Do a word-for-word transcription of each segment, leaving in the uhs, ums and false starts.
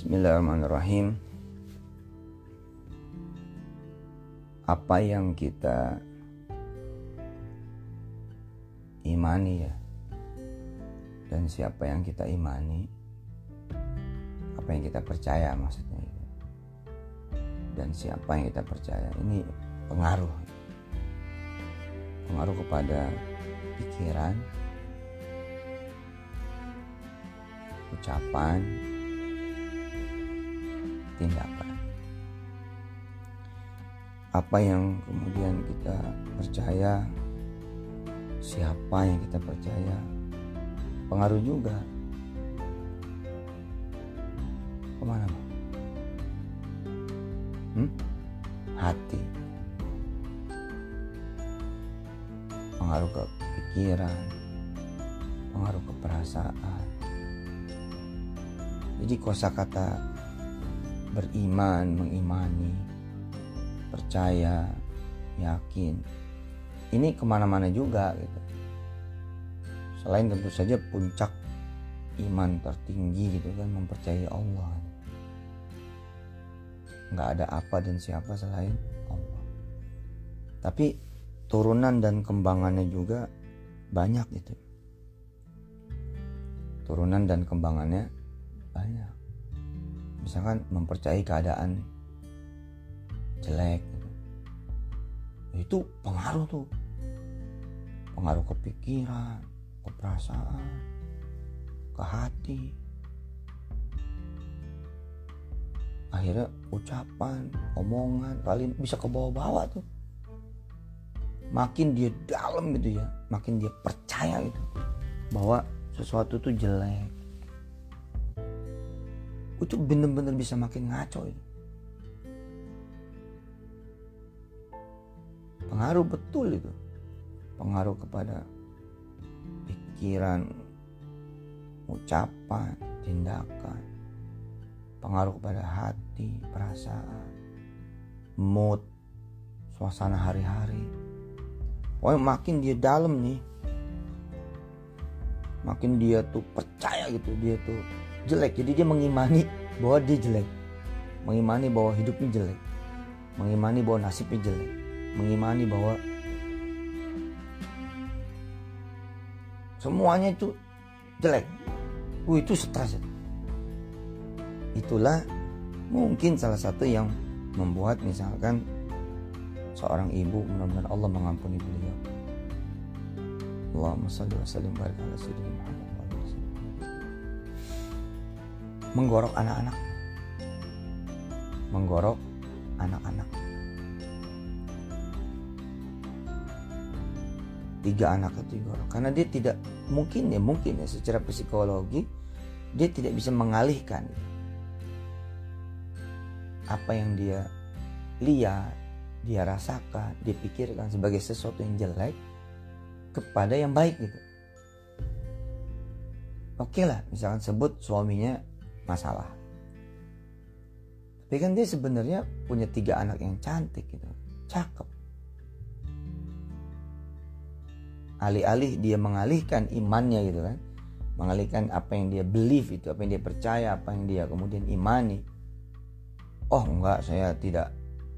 Bismillahirrahmanirrahim. Apa yang kita imani ya, dan siapa yang kita imani, apa yang kita percaya maksudnya itu, dan siapa yang kita percaya, ini pengaruh pengaruh kepada pikiran, ucapan, tindakan. Apa yang kemudian kita percaya, siapa yang kita percaya, pengaruh juga kemana? Hmm? Hati, pengaruh ke pikiran, pengaruh ke perasaan. Jadi kosakata beriman, mengimani, percaya, yakin, ini kemana-mana juga gitu. Selain tentu saja puncak iman tertinggi gitu kan, mempercayai Allah. Nggak ada apa dan siapa selain Allah. Tapi turunan dan kembangannya juga banyak gitu. Turunan dan kembangannya banyak. Misalkan mempercayai keadaan jelek gitu. Itu pengaruh tuh. Pengaruh ke pikiran, ke perasaan, ke hati. Akhirnya ucapan, omongan, paling bisa ke bawah-bawah tuh. Makin dia dalam gitu ya, makin dia percaya gitu bahwa sesuatu tuh jelek, itu bener-bener bisa makin ngaco itu. Pengaruh betul itu, pengaruh kepada pikiran, ucapan, tindakan, pengaruh kepada hati, perasaan, mood, suasana hari-hari. Pokoknya makin dia dalam nih, makin dia tuh percaya gitu, dia tuh jelek. Jadi dia mengimani bahwa dia jelek, mengimani bahwa hidupnya jelek, mengimani bahwa nasibnya jelek, mengimani bahwa semuanya itu jelek. Uh, itu stres. Itulah mungkin salah satu yang membuat misalkan seorang ibu, mudah-mudahan Allah mengampuni beliau, Allahumma shalli wa sallim barik ala sayyidina Muhammad, menggorok anak-anak, menggorok anak-anak. Tiga anak itu digorok karena dia tidak mungkin ya mungkin ya secara psikologi dia tidak bisa mengalihkan apa yang dia lihat, dia rasakan, dia pikirkan sebagai sesuatu yang jelek kepada yang baik gitu. Oke lah, misalkan sebut suaminya masalah, tapi kan dia sebenarnya punya tiga anak yang cantik gitu, cakep. Alih-alih dia mengalihkan imannya gitu kan, mengalihkan apa yang dia believe itu, apa yang dia percaya, apa yang dia kemudian imani. Oh enggak, saya tidak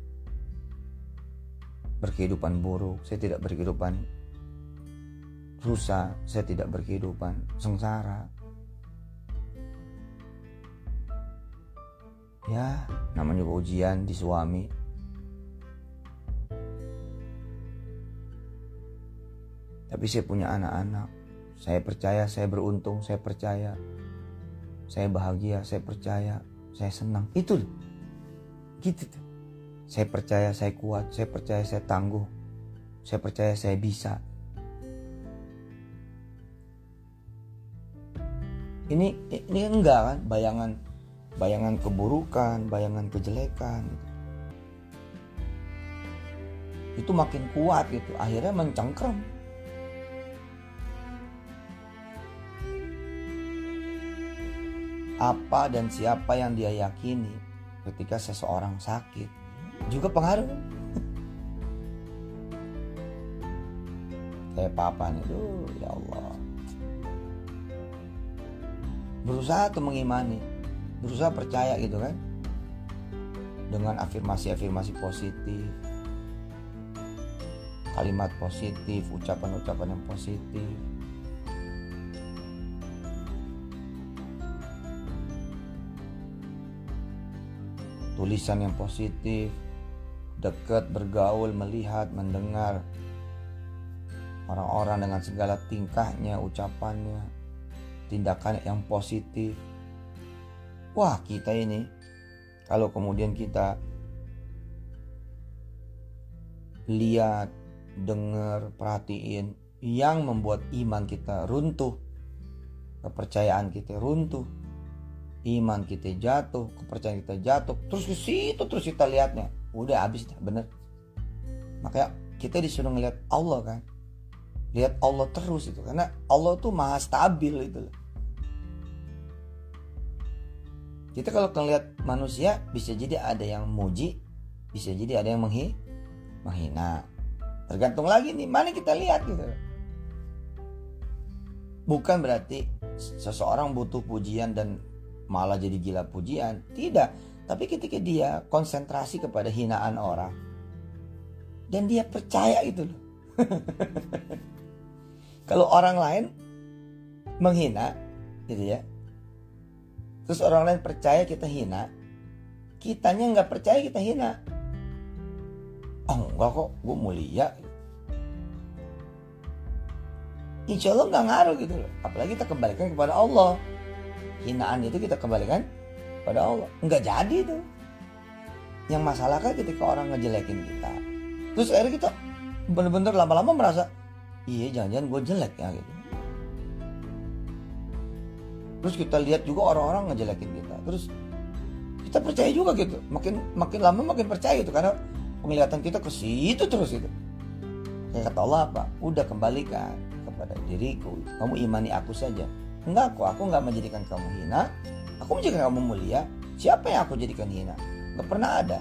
berkehidupan buruk, saya tidak berkehidupan susah, saya tidak berkehidupan sengsara. Ya, namanya juga ujian di suami. Tapi saya punya anak-anak, saya percaya, saya beruntung, saya percaya, saya bahagia, saya percaya, saya senang. Itu gitu tuh. Saya percaya saya kuat, saya percaya saya tangguh, saya percaya saya bisa. Ini ini enggak kan, bayangan bayangan keburukan, bayangan kejelekan gitu. Itu makin kuat gitu, akhirnya mencengkram. Apa dan siapa yang dia yakini ketika seseorang sakit juga pengaruh. Kayak papa nih, tuh ya Allah, berusaha tuh mengimani berusaha percaya gitu kan, dengan afirmasi-afirmasi positif, kalimat positif, ucapan-ucapan yang positif. Tulisan yang positif, dekat, bergaul, melihat, mendengar orang-orang dengan segala tingkahnya, ucapannya, tindakan yang positif. Wah, kita ini kalau kemudian kita lihat, dengar, perhatiin yang membuat iman kita runtuh, kepercayaan kita runtuh, iman kita jatuh, kepercayaan kita jatuh, terus ke situ terus kita lihatnya, udah habis dah, bener. Makanya kita disuruh ngelihat Allah kan, lihat Allah terus itu, karena Allah tuh maha stabil itu loh. Kita kalau ngelihat manusia bisa jadi ada yang muji, bisa jadi ada yang menghi, menghina. Tergantung lagi nih mana kita lihat gitu. Bukan berarti seseorang butuh pujian dan malah jadi gila pujian, tidak. Tapi ketika dia konsentrasi kepada hinaan orang dan dia percaya itu loh. Kalau orang lain menghina gitu ya, terus orang lain percaya kita hina, kitanya nggak percaya kita hina. Oh enggak kok, gue mulia. Insya Allah nggak ngaruh gitu loh. Apalagi kita kembalikan kepada Allah. Hinaan itu kita kembalikan kepada Allah. Nggak jadi tuh. Yang masalah kan ketika orang ngejelekin kita, terus akhirnya kita bener-bener lama-lama merasa, iya jangan-jangan gue jelek ya gitu. Terus kita lihat juga orang-orang ngejelekin kita, terus kita percaya juga gitu. Makin makin lama makin percaya gitu, karena penglihatan kita ke situ terus gitu. Kayak kata Allah apa? Udah kembalikan kepada diriku. Kamu imani aku saja. Enggak kok, aku enggak menjadikan kamu hina. Aku menjadikan kamu mulia. Siapa yang aku jadikan hina? Enggak pernah ada.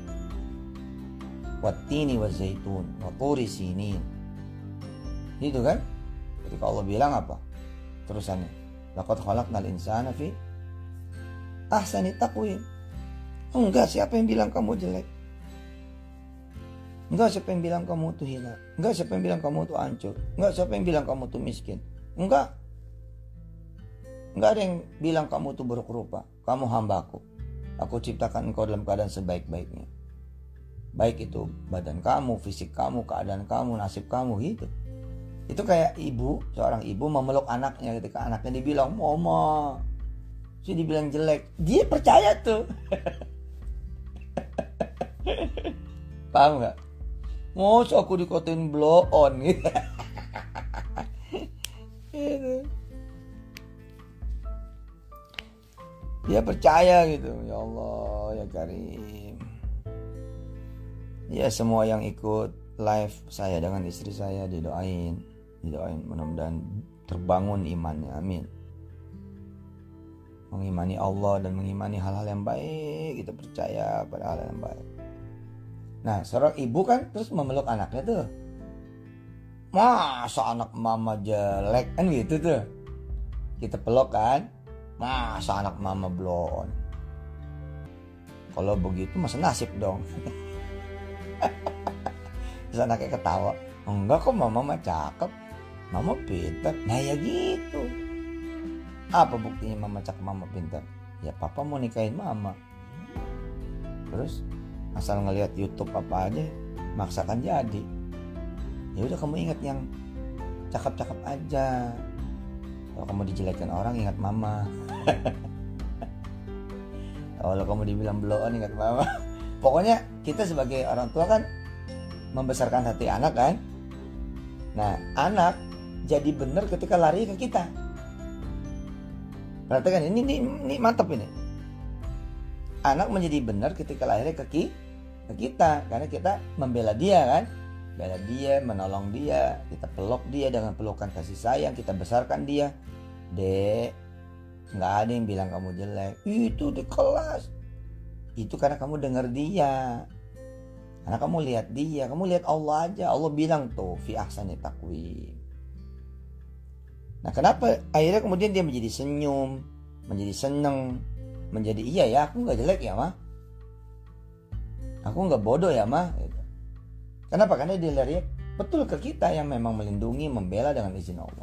Wattini wa zaitun wa turi sinin. Gitu kan? Ketika Allah bilang apa? Terusannya, laqad khalaqnal insana fi ahsani taqwim. Enggak, siapa yang bilang kamu jelek? Enggak, siapa yang bilang kamu tuh hina? Enggak, siapa yang bilang kamu tuh hancur? Enggak, siapa yang bilang kamu tuh miskin? Enggak. Enggak ada yang bilang kamu tuh buruk rupa. Kamu hambaku. Aku ciptakan engkau dalam keadaan sebaik-baiknya. Baik itu badan kamu, fisik kamu, keadaan kamu, nasib kamu gitu. Itu kayak ibu, seorang ibu memeluk anaknya ketika anaknya dibilang, "Mama." Terus dibilang jelek. Dia percaya tuh. Paham gak? Masa aku dikotain blow on gitu. Dia percaya gitu. Ya Allah ya Karim. Ya semua yang ikut live saya dengan istri saya didoain, didoain mudah-mudahan terbangun imannya, amin. Mengimani Allah dan mengimani hal-hal yang baik, kita percaya pada hal yang baik. Nah seorang ibu kan terus memeluk anaknya tuh, masa anak mama jelek kan gitu tuh. Kita peluk kan, masa anak mama blow on. Kalau begitu masa nasib dong. Terus anaknya ketawa, enggak kok mama mah cakep, mama pintar. Nah ya gitu. Apa buktinya mama cakep, mama pintar? Ya papa mau nikahin mama. Terus asal ngelihat YouTube apa aja, maksakan jadi. Ya udah kamu ingat yang cakep-cakep aja. Kalau kamu dijelekan orang ingat mama. Kalau kamu dibilang blow on ingat mama. Pokoknya kita sebagai orang tua kan membesarkan hati anak kan. Nah anak jadi benar ketika lari ke kita. Perhatikan ini, ini, ini mantap ini. Anak menjadi benar ketika lahirnya ke, ke kita. Karena kita membela dia kan. Bela dia, menolong dia. Kita peluk dia dengan pelukan kasih sayang. Kita besarkan dia. Dek, gak ada yang bilang kamu jelek. Itu di kelas. Itu karena kamu dengar dia. Karena kamu lihat dia. Kamu lihat Allah aja. Allah bilang tuh fi ahsani taqwim. Nah kenapa akhirnya kemudian dia menjadi senyum, menjadi seneng, menjadi iya ya, aku nggak jelek ya mah, aku nggak bodoh ya mah. Gitu. Kenapa? Karena dia lihat betul ke kita yang memang melindungi, membela dengan izin Allah.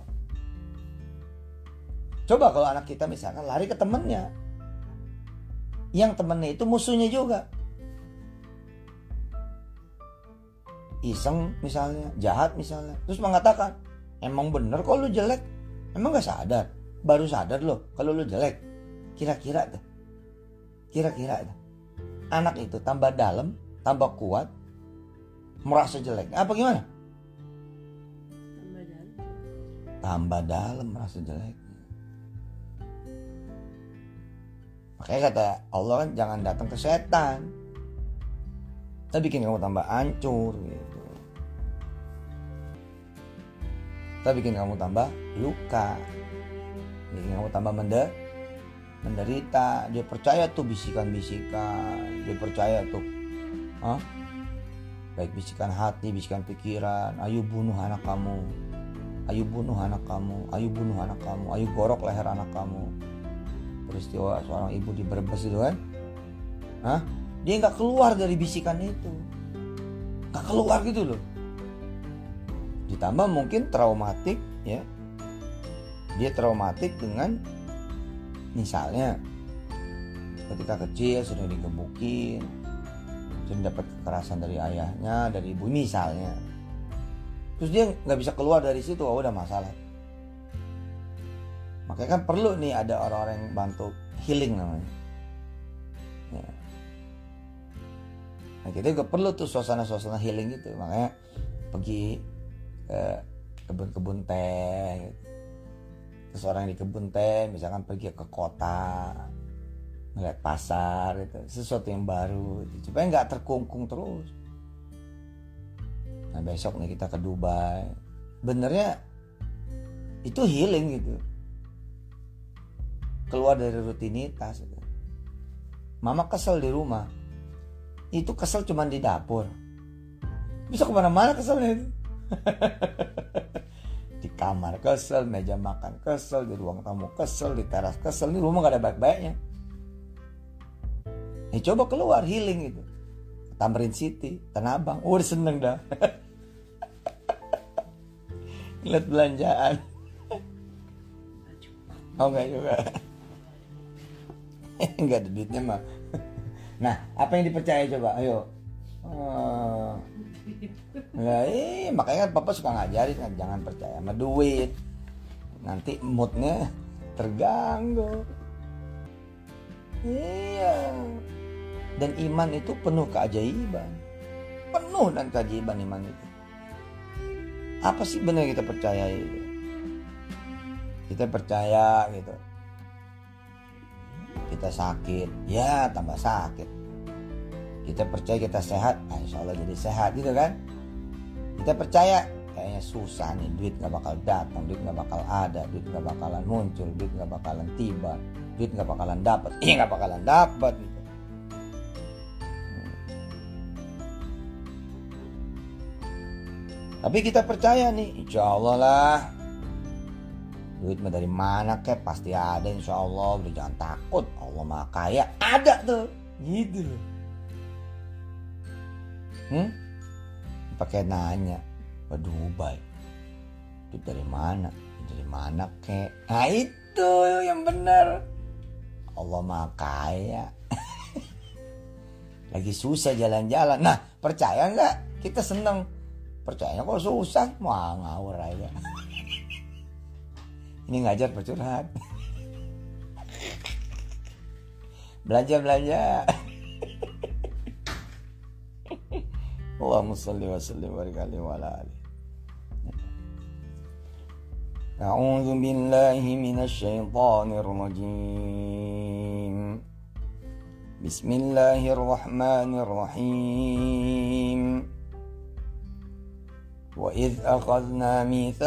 Coba kalau anak kita misalkan lari ke temennya, yang temennya itu musuhnya juga, iseng misalnya, jahat misalnya, terus mengatakan, emang bener kok lu jelek, emang gak sadar, baru sadar loh kalau lu jelek. Kira-kira tuh, kira-kira tuh, anak itu tambah dalam, tambah kuat, merasa jelek, apa gimana? Tambah dalam. Tambah dalam merasa jelek. Makanya kata Allah kan jangan datang ke setan, kita bikin kamu tambah hancur gitu. Kita bikin kamu tambah luka, bikin kamu tambah mende, menderita. Dia percaya tuh bisikan-bisikan, dia percaya tuh, huh? baik bisikan hati, bisikan pikiran. Ayo bunuh anak kamu, ayo bunuh anak kamu, ayo bunuh anak kamu, ayo gorok leher anak kamu. Peristiwa seorang ibu di Brebes itu kan, huh? Dia nggak keluar dari bisikan itu, nggak keluar gitu loh. Ditambah mungkin traumatik ya, dia traumatik dengan misalnya ketika kecil sering digebukin, sering dapat kekerasan dari ayahnya, dari ibu misalnya, terus dia nggak bisa keluar dari situ, oh udah masalah. Makanya kan perlu nih ada orang-orang yang bantu healing namanya. Ya. Nah kita juga perlu tuh suasana-suasana healing gitu. Makanya pergi ke kebun-kebun teh gitu. Terus orang yang di kebun teh misalkan pergi ke kota, ngeliat pasar gitu, sesuatu yang baru gitu. Supaya gak terkungkung terus. Nah besok nih kita ke Dubai, benernya itu healing gitu, keluar dari rutinitas gitu. Mama kesel di rumah, itu kesel cuma di dapur, bisa kemana-mana keselnya itu. Di kamar kesel, meja makan kesel, di ruang tamu kesel, di teras kesel, di rumah gak ada baik-baiknya. Eh coba keluar healing gitu, Tamrin City, Tanah Abang, oh udah seneng dah. Lihat belanjaan. Oh enggak juga. Enggak ada duitnya mah. Nah, apa yang dipercaya coba? Ayo. Oh. Nah, eh, makanya kan papa suka ngajarin kan, jangan percaya sama duit. Nanti moodnya terganggu. Iya. Dan iman itu penuh keajaiban. Penuh dan keajaiban iman itu. Apa sih benar kita percaya itu? Kita percaya gitu, kita sakit, ya tambah sakit. Kita percaya kita sehat, nah insya Allah jadi sehat gitu kan. Kita percaya kayaknya susah nih, duit gak bakal datang, duit gak bakal ada, duit gak bakalan muncul, duit gak bakalan tiba, duit gak bakalan dapat, iya gak bakalan dapat gitu. Hmm. Tapi kita percaya nih, insya Allah lah. Duit mah dari mana kek pasti ada insya Allah, udah jangan takut, Allah maha kaya, ada tuh gitu loh. Hmm? Pakai nanya ke Dubai, duit dari mana, dari mana kek? Nah itu yang benar, Allah maha kaya. Lagi susah jalan-jalan, nah percaya nggak? Kita seneng, percaya kok susah, wah ngawur aja. Ini ngajar bercurhat. Belanja-belanja. Allahumma shalli wa sallim wa barik alaihi wa ala alihi. A'udzu billahi minasy syaithanir rajim. Bismillahirrahmanirrahim. Wa idz akhadna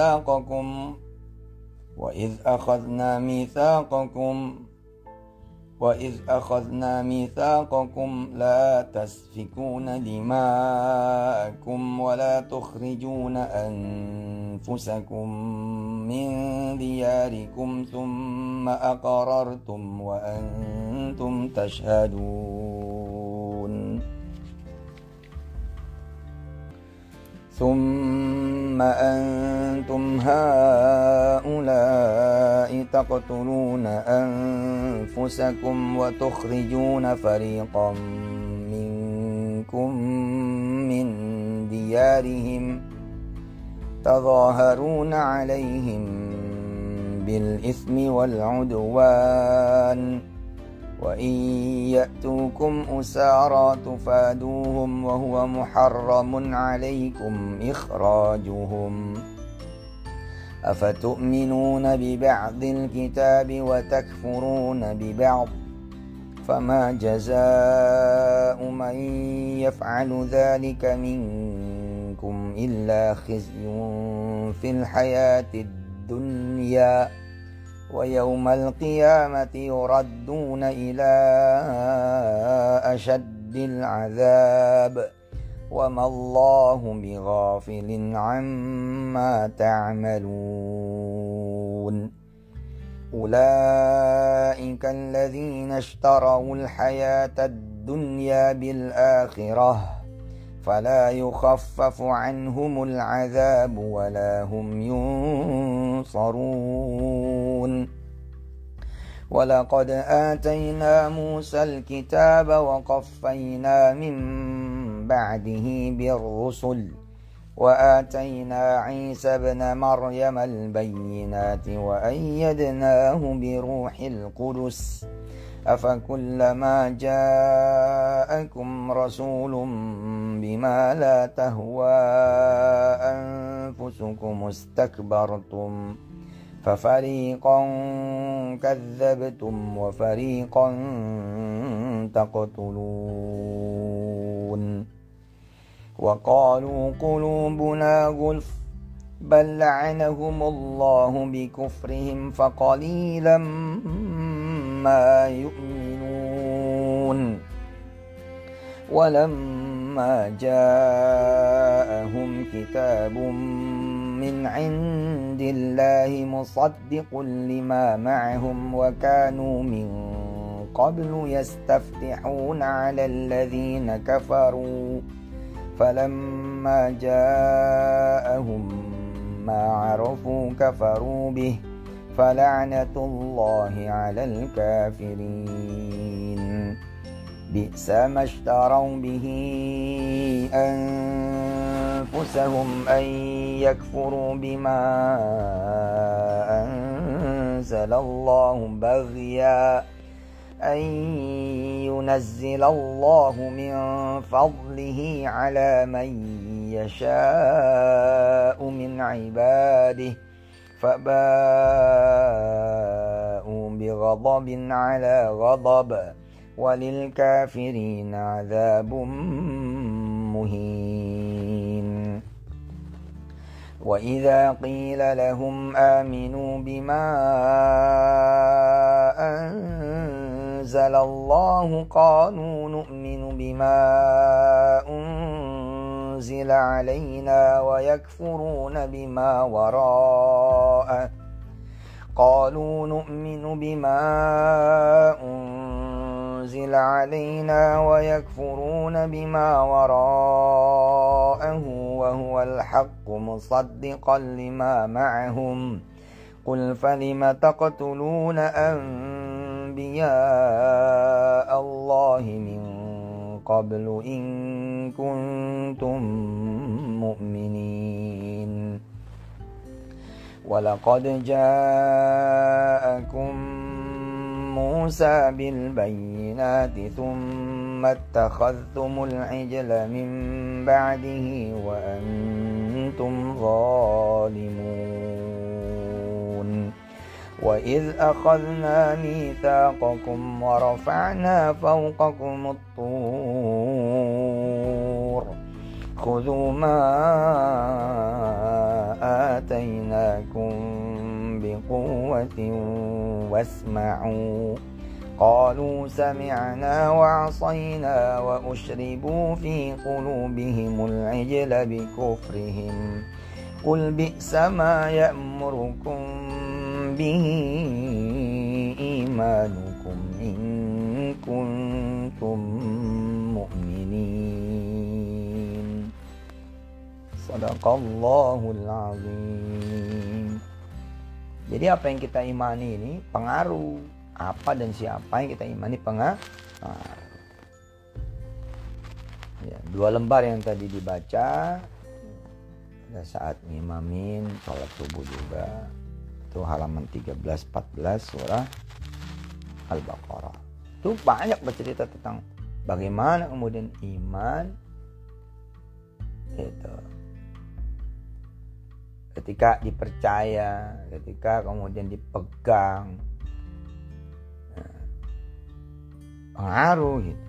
mitsaqakum وَإِذْ أَخَذْنَا مِيثَاقَكُمْ وإذ أخذنا ميثاقكم لا تسفكون دماءكم ولا تخرجون أنفسكم من دياركم ثم أقررتم وأنتم تشهدون ثم أنتم هؤلاء تقتلون أنفسكم وتخرجون فريقا منكم من ديارهم تظاهرون عليهم بالإثم والعدوان وإن يأتوكم أسارى تفادوهم وهو محرم عليكم إخراجهم أفتؤمنون ببعض الكتاب وتكفرون ببعض فما جزاء من يفعل ذلك منكم إلا خزي في الحياة الدنيا ويوم القيامة يردون إلى أشد العذاب وما الله بغافل عما تعملون أولئك الذين اشتروا الحياة الدنيا بالآخرة فلا يخفف عنهم العذاب ولا هم ينصرون ولقد آتينا موسى الكتاب وقفينا من بعده بالرسل وآتينا عيسى ابن مريم البينات وأيدناه بروح القدس أفكلما جاءكم رسول بما لا تهوى أنفسكم استكبرتم ففريقا كذبتم وفريقا تقتلون وقالوا قلوبنا غلف بل لعنهم الله بكفرهم فقليلا ما يؤمنون ولما جاءهم كتاب من عند الله مصدق لما معهم وكانوا من قبل يستفتحون على الذين كفروا فلما جاءهم ما عرفوا كفروا به فلعنة الله على الكافرين بئس ما اشتروا به أنفسهم أن يكفروا بما أنزل الله بغيا أن ينزل الله من فضله على من يشاء من عباده فباءوا بغضب على غضب وللكافرين عذاب مهين وإذا قيل لهم آمنوا بما أنزل الله قالوا نؤمن بما أنزل علينا ويكفرون بما وراءه قالوا نؤمن بما أنزل علينا ويكفرون بما وراءه وهو الحق مصدقا لما معهم قل فلم تقتلون أنبياء الله من قبل إن كنتم مؤمنين ولقد جاءكم موسى بالبينات ثم اتخذتم العجل من بعده وأنتم ظالمون وإذ أخذنا ميثاقكم ورفعنا فوقكم الطور خذوا ما آتيناكم بقوة واسمعوا قالوا سمعنا وعصينا وأشربوا في قلوبهم العجل بكفرهم قل بئس ما يأمركم به إيمانكم إن كنتم مؤمنين Sadaqallahul azim. Jadi apa yang kita imani ini pengaruh. Apa dan siapa yang kita imani pengaruh. Ya, dua lembar yang tadi dibaca pada saat ngimamin sholat subuh juga. Itu halaman tiga belas empat belas surah Al-Baqarah. Itu banyak bercerita tentang bagaimana kemudian iman itu ketika dipercaya, ketika kemudian dipegang, nah, pengaruh gitu.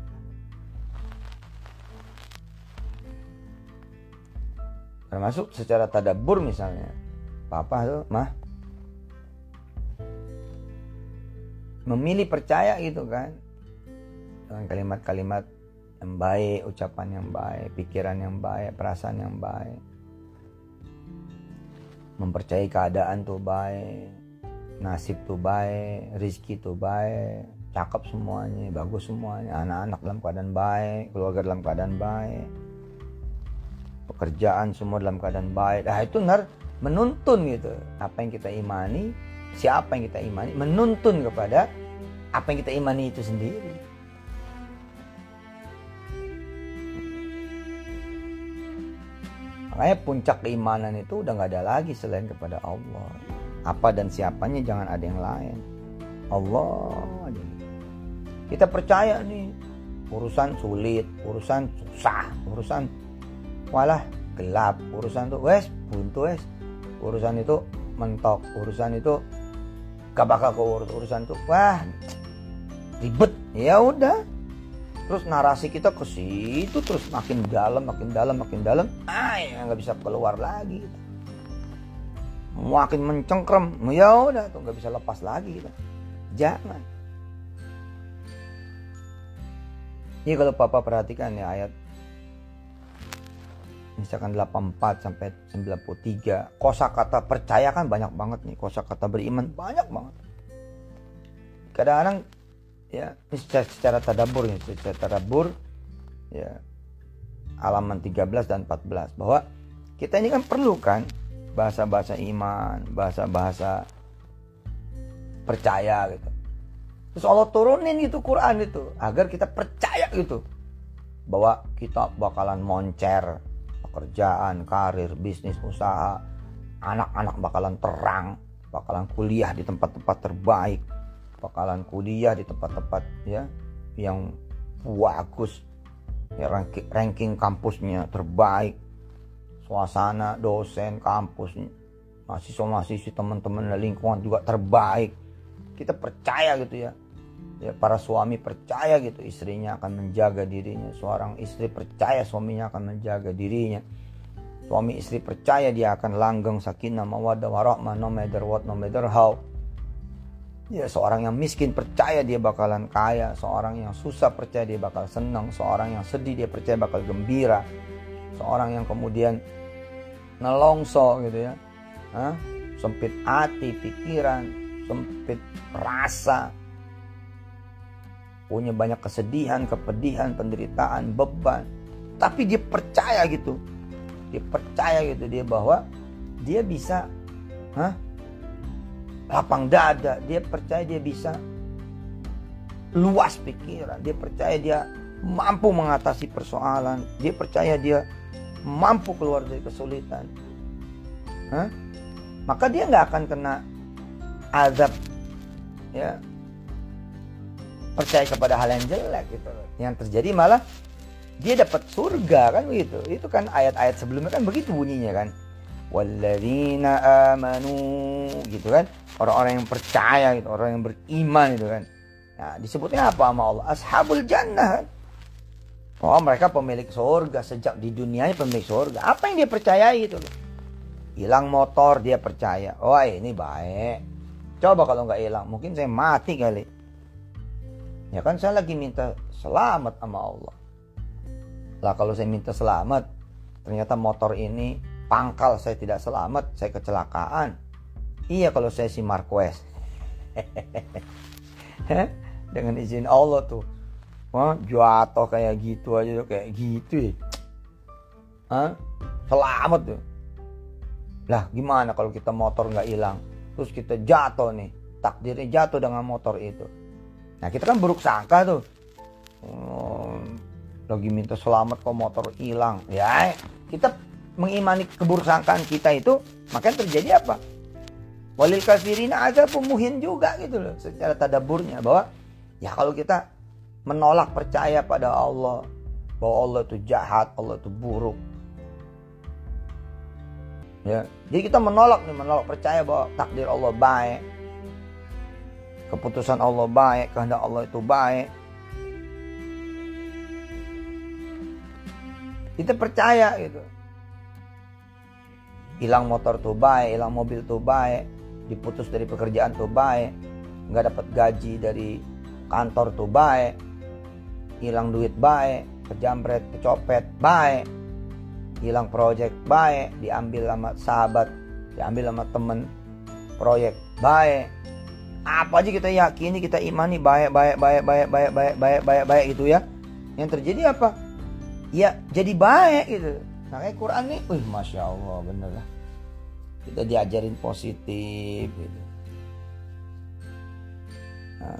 Termasuk secara tadabbur misalnya, papa tuh mah memilih percaya gitu kan, dengan kalimat-kalimat yang baik, ucapan yang baik, pikiran yang baik, perasaan yang baik. Mempercayai keadaan tuh baik, nasib tuh baik, rizki tuh baik, cakep semuanya, bagus semuanya, anak-anak dalam keadaan baik, keluarga dalam keadaan baik, pekerjaan semua dalam keadaan baik. Nah itu benar menuntun gitu, apa yang kita imani, siapa yang kita imani, menuntun kepada apa yang kita imani itu sendiri. Makanya puncak keimanan itu udah gak ada lagi selain kepada Allah. Apa dan siapanya jangan ada yang lain. Allah aja. Kita percaya nih, urusan sulit, urusan susah, urusan walah gelap, urusan itu wes buntu wes, urusan itu mentok, urusan itu gak bakal keurus, urusan itu wah ribet. Ya udah. Terus narasi kita ke situ terus makin dalam, makin dalam, makin dalam, ah ya nggak bisa keluar lagi. Gitu. Makin mencengkram, ya udah tuh nggak bisa lepas lagi. Gitu. Jangan. Ini kalau papa perhatikan ya ayat misalkan delapan puluh empat sampai sembilan puluh tiga, kosakata percaya kan banyak banget nih, kosakata beriman banyak banget. Kadang-kadang ya, ini secara, secara tadabbur ya, secara tadabbur ya halaman tiga belas dan empat belas bahwa kita ini kan perlu kan bahasa-bahasa iman, bahasa-bahasa percaya gitu. Terus Allah turunin itu Quran itu agar kita percaya gitu bahwa kita bakalan moncer pekerjaan, karir, bisnis, usaha, anak-anak bakalan terang, bakalan kuliah di tempat-tempat terbaik, bakalan kuliah di tempat-tempat ya yang bagus, ya ranking, ranking kampusnya terbaik, suasana dosen kampus, mahasiswa-mahasiswi teman-teman dan lingkungan juga terbaik. Kita percaya gitu ya, ya para suami percaya gitu istrinya akan menjaga dirinya, seorang istri percaya suaminya akan menjaga dirinya, suami istri percaya dia akan langgeng sakinah mawaddah warahmah no matter what, no matter how. Ya, seorang yang miskin percaya dia bakalan kaya, seorang yang susah percaya dia bakal senang, seorang yang sedih dia percaya bakal gembira, seorang yang kemudian nelongso gitu ya, Hah? sempit hati, pikiran, sempit rasa, punya banyak kesedihan, kepedihan, penderitaan, beban, tapi dia percaya gitu, dia percaya gitu dia bahwa dia bisa, hah? lapang dada, dia percaya dia bisa luas pikiran, dia percaya dia mampu mengatasi persoalan, dia percaya dia mampu keluar dari kesulitan. Hah? Maka dia nggak akan kena azab, ya percaya kepada hal yang jelek gitu. Yang terjadi malah dia dapat surga kan begitu. Itu kan ayat-ayat sebelumnya kan begitu bunyinya kan. Walladzina amanu gitu kan, orang-orang yang percaya gitu, orang yang beriman gitu kan. Nah disebutnya apa sama Allah? Ashabul jannah kan. Oh mereka pemilik surga, sejak di dunianya pemilik surga. Apa yang dia percayai gitu loh. Hilang motor dia percaya, oh ini baik. Coba kalau nggak hilang mungkin saya mati kali. Ya kan saya lagi minta selamat sama Allah. Lah kalau saya minta selamat, ternyata motor ini pangkal, saya tidak selamat, saya kecelakaan. Iya kalau saya si Marquez. Dengan izin Allah tuh. Wah, jatuh kayak gitu aja tuh, kayak gitu ya. Hah? Selamat tuh. Lah gimana kalau kita motor nggak hilang, terus kita jatuh nih, takdirnya jatuh dengan motor itu. Nah kita kan buruk sangka tuh, oh, lagi minta selamat kok motor hilang. Ya kita mengimani keburuksangkaan kita itu, makanya terjadi apa? Walil kafirina adzabun muhin juga gitu loh, secara tadaburnya, bahwa ya kalau kita menolak percaya pada Allah, bahwa Allah itu jahat, Allah itu buruk. Ya, jadi kita menolak nih, menolak percaya bahwa takdir Allah baik, keputusan Allah baik, kehendak Allah itu baik. Kita percaya gitu. Hilang motor tuh baik, hilang mobil tuh baik, diputus dari pekerjaan tuh baik, nggak dapat gaji dari kantor tuh baik, hilang duit baik, kejamret, kecopet baik, hilang proyek baik, diambil sama sahabat, diambil sama temen proyek baik. Apa aja kita yakini, kita imani baik, baik, baik, baik, baik, baik, baik, baik, baik gitu ya. Yang terjadi apa? Ya jadi baik gitu. Makanya Quran nih, wih masya Allah bener lah. Kita diajarin positif gitu. Nah,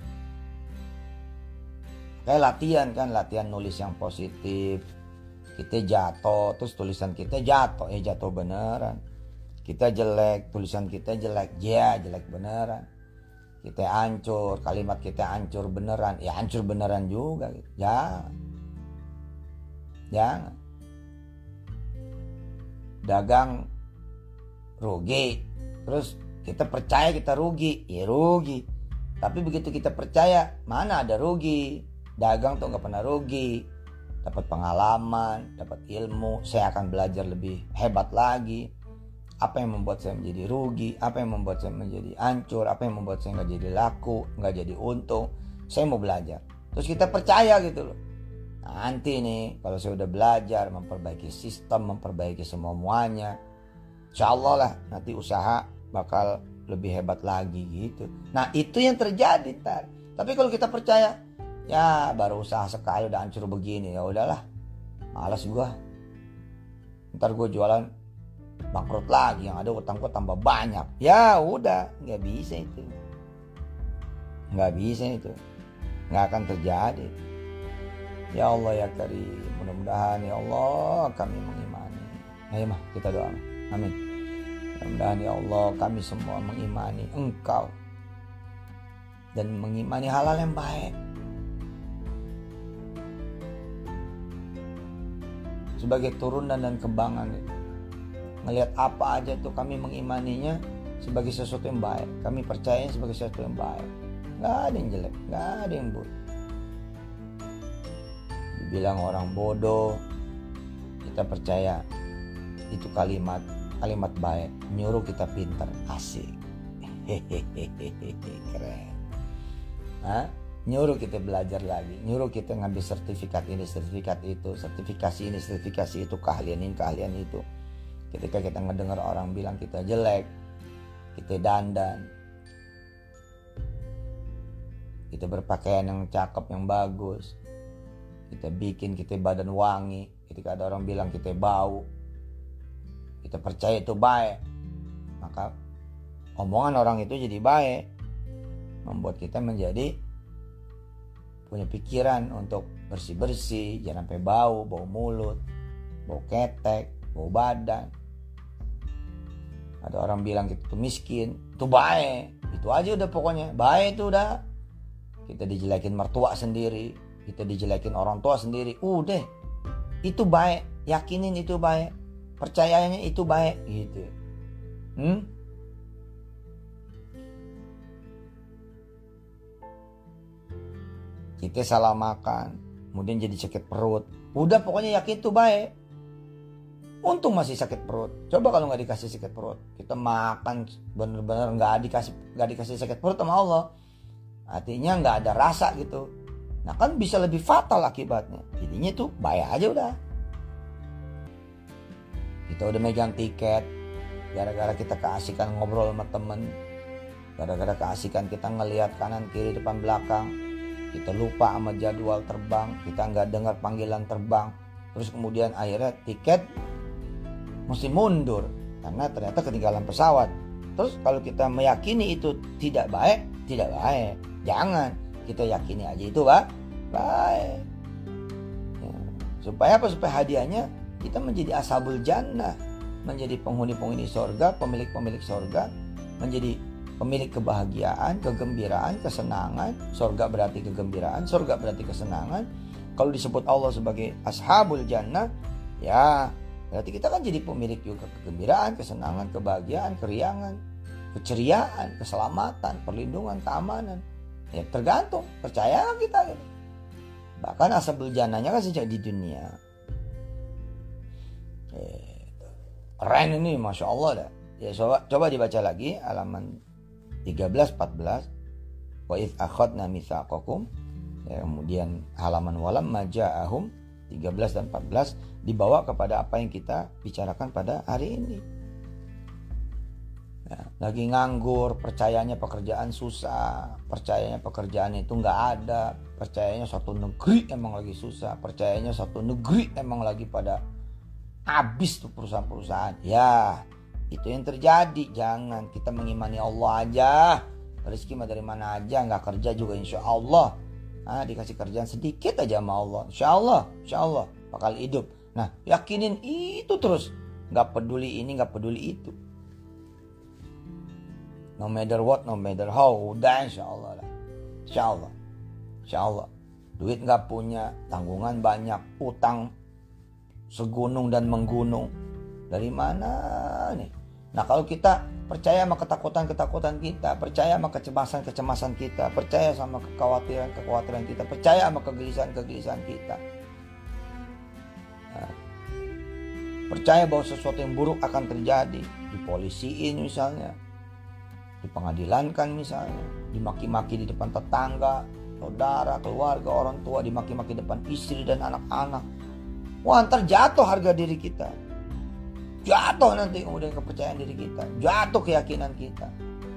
kayak latihan kan, latihan nulis yang positif. Kita jatuh, terus tulisan kita jatuh, ya jatuh beneran. Kita jelek, tulisan kita jelek, ya jelek beneran. Kita hancur, kalimat kita hancur beneran, ya hancur beneran juga. Gitu. Jangan, jangan. Dagang rugi, terus kita percaya kita rugi, ya rugi. Tapi begitu kita percaya, mana ada rugi? Dagang tuh nggak pernah rugi. Dapat pengalaman, dapat ilmu, saya akan belajar lebih hebat lagi. Apa yang membuat saya menjadi rugi, apa yang membuat saya menjadi hancur, apa yang membuat saya nggak jadi laku, nggak jadi untung. Saya mau belajar. Terus kita percaya gitu loh. Nanti nih kalau saya udah belajar, memperbaiki sistem, memperbaiki semua-muanya, insya Allah lah nanti usaha bakal lebih hebat lagi gitu. Nah itu yang terjadi tar. Tapi kalau kita percaya, ya baru usaha sekali udah hancur begini, ya udahlah, malas gua. Ntar gua jualan bangkrut lagi, yang ada utang gua tambah banyak. Ya udah, nggak bisa itu, nggak bisa itu, nggak akan terjadi. Ya Allah ya Karim, mudah-mudahan ya Allah kami mengimani. Ayo mah kita doa, amin. Mudah-mudahan ya Allah kami semua mengimani Engkau dan mengimani hal-hal yang baik. Sebagai turunan dan kembangan itu, ngelihat apa aja tuh kami mengimaninya sebagai sesuatu yang baik. Kami percaya sebagai sesuatu yang baik. Gak ada yang jelek, gak ada yang buruk. Dibilang orang bodoh, kita percaya itu kalimat kalimat baik, nyuruh kita pintar, asik. Hehehe, keren. Hah? Nyuruh kita belajar lagi, nyuruh kita ngambil sertifikat ini, sertifikat itu, sertifikasi ini, sertifikasi itu, keahlian ini, keahlian itu. Ketika kita ngedengar orang bilang kita jelek, kita dandan, kita berpakaian yang cakep, yang bagus, kita bikin kita badan wangi, ketika ada orang bilang kita bau, kita percaya itu baik, maka omongan orang itu jadi baik, membuat kita menjadi punya pikiran untuk bersih-bersih, jangan sampai bau, bau mulut, bau ketek, bau badan. Ada orang bilang kita tuh miskin, itu baik, itu aja udah pokoknya, baik itu udah. Kita dijelekin mertua sendiri, kita dijelekin orang tua sendiri, udah, itu baik, yakinin itu baik, percayanya itu baik, gitu. Hmm? Kita salah makan, kemudian jadi sakit perut. Udah pokoknya yakin itu baik. Untung masih sakit perut. Coba kalau nggak dikasih sakit perut, kita makan bener-bener nggak dikasih nggak dikasih sakit perut sama Allah. Artinya nggak ada rasa gitu. Nah kan bisa lebih fatal akibatnya. Jadinya tuh bayar aja udah. Kita udah megang tiket, gara-gara kita keasikan ngobrol sama temen, gara-gara keasikan kita ngelihat kanan kiri depan belakang, kita lupa sama jadwal terbang, kita nggak dengar panggilan terbang, terus kemudian akhirnya tiket mesti mundur karena ternyata ketinggalan pesawat. Terus kalau kita meyakini itu tidak baik, tidak baik. Jangan, kita yakini aja itu Pak, baik. Ya. Supaya apa? Supaya hadiahnya kita menjadi ashabul jannah, menjadi penghuni-penghuni sorga, pemilik-pemilik sorga, menjadi pemilik kebahagiaan, kegembiraan, kesenangan. Sorga berarti kegembiraan, sorga berarti kesenangan. Kalau disebut Allah sebagai ashabul jannah, ya berarti kita kan jadi pemilik juga kegembiraan, kesenangan, kebahagiaan, keriangan, keceriaan, keselamatan, perlindungan, keamanan. Ya tergantung, percaya kita gitu. Bahkan ashabul jannahnya kan sejak di dunia. Gitu. Keren ini, Masya Allah dah. Ya coba, coba dibaca lagi halaman tiga belas empat belas. Wa idz akhadna mitsaqakum. Ya, kemudian halaman walam maja'ahum tiga belas dan empat belas dibawa kepada apa yang kita bicarakan pada hari ini. Ya, lagi nganggur, percayanya pekerjaan susah, percayanya pekerjaan itu nggak ada, percayanya suatu negeri emang lagi susah, percayanya suatu negeri emang lagi pada habis tuh perusahaan-perusahaan. Ya, itu yang terjadi. Jangan, kita mengimani Allah aja. Rezeki mah dari mana aja, nggak kerja juga insya Allah. Ah, dikasih kerjaan sedikit aja sama Allah, insya Allah, insya Allah bakal hidup. Nah, yakinin itu terus, nggak peduli ini, nggak peduli itu. No matter what, no matter how, udah insya Allah lah, insya Allah, insya Allah. Duit nggak punya, tanggungan banyak, utang segunung dan menggunung. Dari mana nih? Nah kalau kita percaya sama ketakutan-ketakutan kita, percaya sama kecemasan-kecemasan kita, percaya sama kekhawatiran-kekhawatiran kita, percaya sama kegelisahan-kegelisahan kita, nah, percaya bahwa sesuatu yang buruk akan terjadi, dipolisiin misalnya, dipengadilankan misalnya, dimaki-maki di depan tetangga, saudara, keluarga, orang tua, dimaki-maki depan istri dan anak-anak. Wah, ntar jatuh harga diri kita, jatuh nanti kemudian kepercayaan diri kita, jatuh keyakinan kita,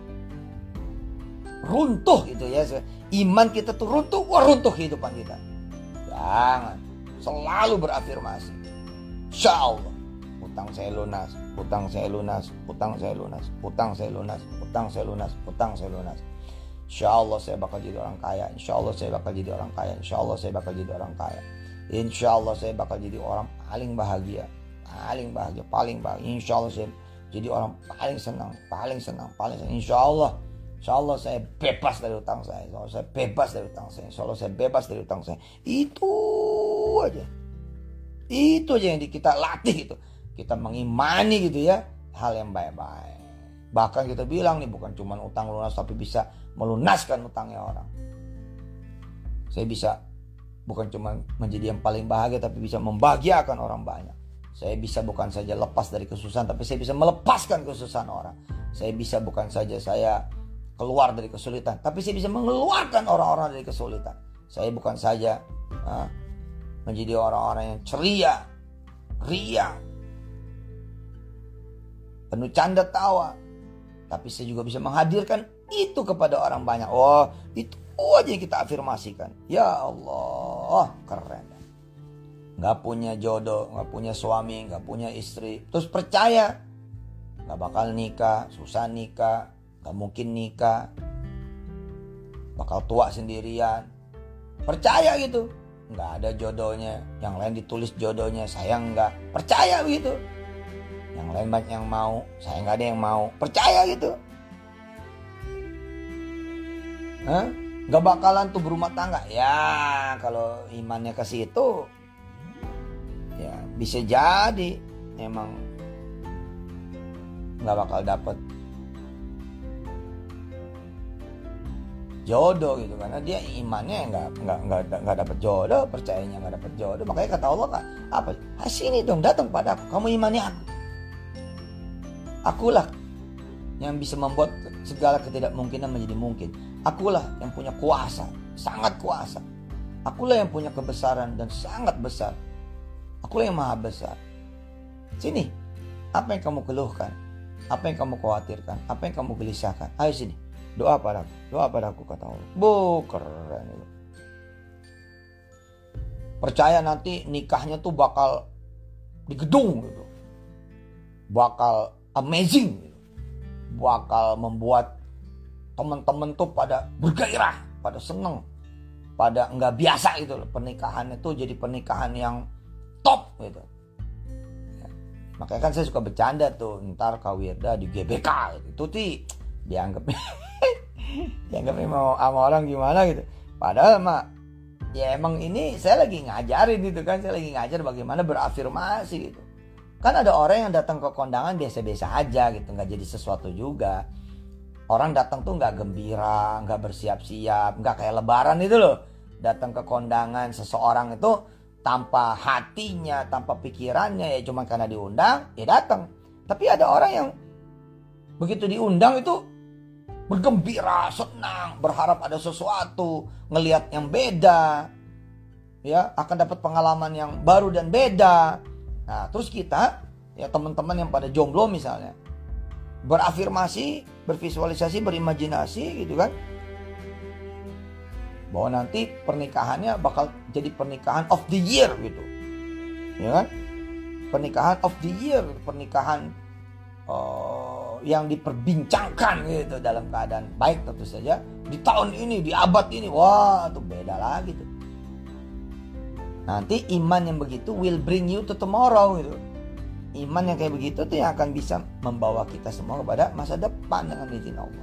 runtuh gitu ya, iman kita tuh runtuh, wah runtuh kehidupan kita. Jangan, selalu berafirmasi, insya Allah utang saya lunas, utang saya lunas, utang saya lunas, utang saya lunas, utang saya lunas, utang saya lunas. Insya Allah saya bakal jadi orang kaya, insya Allah saya bakal jadi orang kaya, insya Allah saya bakal jadi orang kaya, insya Allah saya bakal jadi orang paling bahagia, paling bahagia, paling bahagia. Insya Allah saya jadi orang paling senang, paling senang, paling senang. Insya Allah, insya Allah saya bebas dari utang saya, insya Allah saya bebas dari utang saya, insya Allah saya bebas dari utang saya. Itu aja, itu aja yang kita latih itu. Kita mengimani gitu ya, hal yang baik-baik. Bahkan kita bilang nih, bukan cuma utang lunas, tapi bisa melunaskan utangnya orang. Saya bisa bukan cuma menjadi yang paling bahagia, tapi bisa membahagiakan orang banyak. Saya bisa bukan saja lepas dari kesusahan, tapi saya bisa melepaskan kesusahan orang. Saya bisa bukan saja saya keluar dari kesulitan, tapi saya bisa mengeluarkan orang-orang dari kesulitan. Saya bukan saja ha, menjadi orang-orang yang ceria, riang, penuh canda tawa, tapi saya juga bisa menghadirkan itu kepada orang banyak. Oh, itu aja yang kita afirmasikan. Ya Allah, keren. Gak punya jodoh, gak punya suami, gak punya istri, terus percaya gak bakal nikah, susah nikah, gak mungkin nikah, bakal tua sendirian, percaya gitu. Gak ada jodohnya, yang lain ditulis jodohnya, saya enggak, percaya begitu. Yang lain banyak yang mau, saya gak ada yang mau, percaya gitu. Hah? Gak bakalan tuh berumah tangga. Ya kalau imannya ke situ, ya bisa jadi emang nggak bakal dapet jodoh gitu, karena dia imannya nggak nggak nggak nggak dapet jodoh, percayanya nggak dapet jodoh. Makanya kata Allah kan apa? Sini dong, datang pada aku, kamu imani aku, akulah yang bisa membuat segala ketidakmungkinan menjadi mungkin. Akulah yang punya kuasa, sangat kuasa. Akulah yang punya kebesaran dan sangat besar. Akulah yang maha besar. Sini, apa yang kamu keluhkan? Apa yang kamu khawatirkan? Apa yang kamu gelisahkan? Ayo sini, doa padaku. Doa padaku, kata Allah. Bu, keren itu. Percaya nanti nikahnya tuh bakal di gedung gitu. Bakal amazing gitu. Bakal membuat teman-teman tuh pada bergairah, pada seneng, pada nggak biasa gitu loh. Pernikahan itu jadi pernikahan yang top gitu. Ya. Makanya kan saya suka bercanda tuh, ntar Kak Wirda di G B K gitu. Itu sih dianggap dianggapnya mau sama orang gimana gitu. Padahal mah ya emang ini saya lagi ngajarin gitu kan, saya lagi ngajar bagaimana berafirmasi gitu. Kan ada orang yang datang ke kondangan biasa-biasa aja gitu, nggak jadi sesuatu juga. Orang datang tuh nggak gembira, nggak bersiap-siap, nggak kayak lebaran itu loh. Datang ke kondangan seseorang itu tanpa hatinya, tanpa pikirannya, ya cuma karena diundang, ya datang. Tapi ada orang yang begitu diundang itu bergembira, senang, berharap ada sesuatu, ngelihat yang beda, ya akan dapat pengalaman yang baru dan beda. Nah, terus kita, ya teman-teman yang pada jomblo misalnya, berafirmasi, bervisualisasi, berimajinasi gitu kan, bahwa nanti pernikahannya bakal jadi pernikahan of the year gitu, ya kan, pernikahan of the year, pernikahan uh, yang diperbincangkan gitu dalam keadaan baik tentu saja di tahun ini, di abad ini. Wah, itu beda lagi tuh. Nanti iman yang begitu will bring you to tomorrow gitu. Iman yang kayak begitu tuh yang akan bisa membawa kita semua kepada masa depan dengan izin Allah.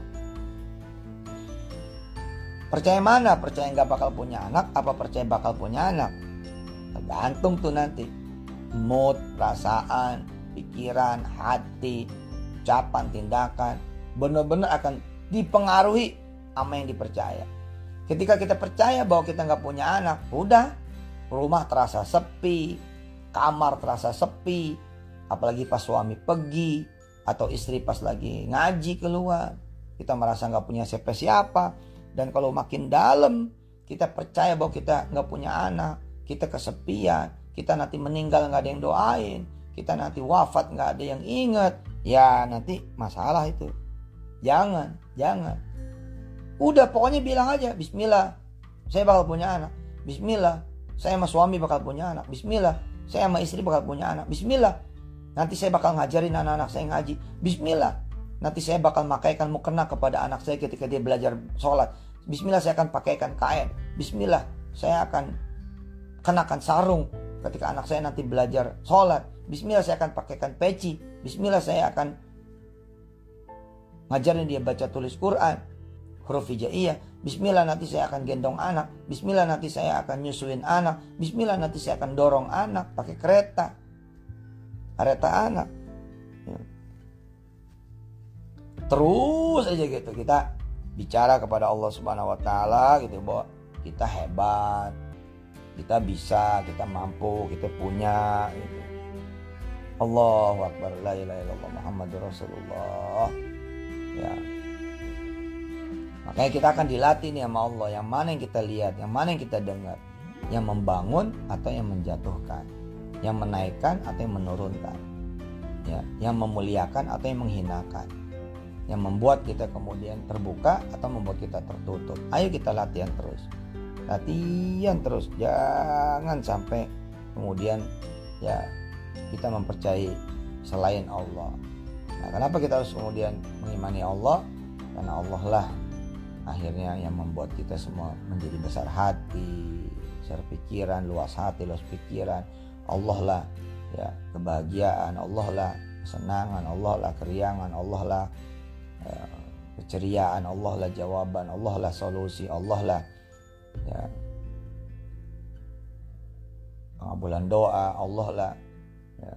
Percaya mana? Percaya nggak bakal punya anak, apa percaya bakal punya anak? Tergantung tuh nanti mood, perasaan, pikiran, hati, ucapan, tindakan, benar-benar akan dipengaruhi sama yang dipercaya. Ketika kita percaya bahwa kita nggak punya anak, udah, rumah terasa sepi, kamar terasa sepi. Apalagi pas suami pergi atau istri pas lagi ngaji keluar, kita merasa nggak punya siapa-siapa. Dan kalau makin dalam kita percaya bahwa kita nggak punya anak, kita kesepian, kita nanti meninggal nggak ada yang doain, kita nanti wafat nggak ada yang ingat, ya nanti masalah itu. Jangan, jangan. Udah pokoknya bilang aja, Bismillah, saya bakal punya anak. Bismillah, saya sama suami bakal punya anak. Bismillah, saya sama istri bakal punya anak. Bismillah, nanti saya bakal ngajarin anak-anak saya ngaji. Bismillah, nanti saya bakal makaikan mukena kepada anak saya ketika dia belajar sholat. Bismillah, saya akan pakaikan kain. Bismillah, saya akan kenakan sarung ketika anak saya nanti belajar sholat. Bismillah, saya akan pakaikan peci. Bismillah, saya akan ngajarin dia baca tulis Quran, huruf hijaiyah. Bismillah, nanti saya akan gendong anak. Bismillah, nanti saya akan nyusuin anak. Bismillah, nanti saya akan dorong anak pakai kereta, kereta anak. Ya. Terus aja gitu kita bicara kepada Allah Subhanahu Wa Taala gitu, bahwa kita hebat, kita bisa, kita mampu, kita punya. Gitu. Allahu Akbar, la ilaha illallah Muhammadur Rasulullah. Ya. Makanya kita akan dilatih nih sama Allah, yang mana yang kita lihat, yang mana yang kita dengar, yang membangun atau yang menjatuhkan, yang menaikkan atau yang menurunkan, ya, yang memuliakan atau yang menghinakan, yang membuat kita kemudian terbuka atau membuat kita tertutup. Ayo kita latihan terus, latihan terus, jangan sampai kemudian ya kita mempercayai selain Allah. Nah, kenapa kita harus kemudian mengimani Allah? Karena Allah lah akhirnya yang membuat kita semua menjadi besar hati, besar pikiran, luas hati, luas pikiran. Allah lah ya kebahagiaan, Allah lah kesenangan, Allah lah keriangan, Allah lah ya, keceriaan, Allah lah jawaban, Allah lah solusi, Allah lah ya pengabulan doa, Allah lah ya,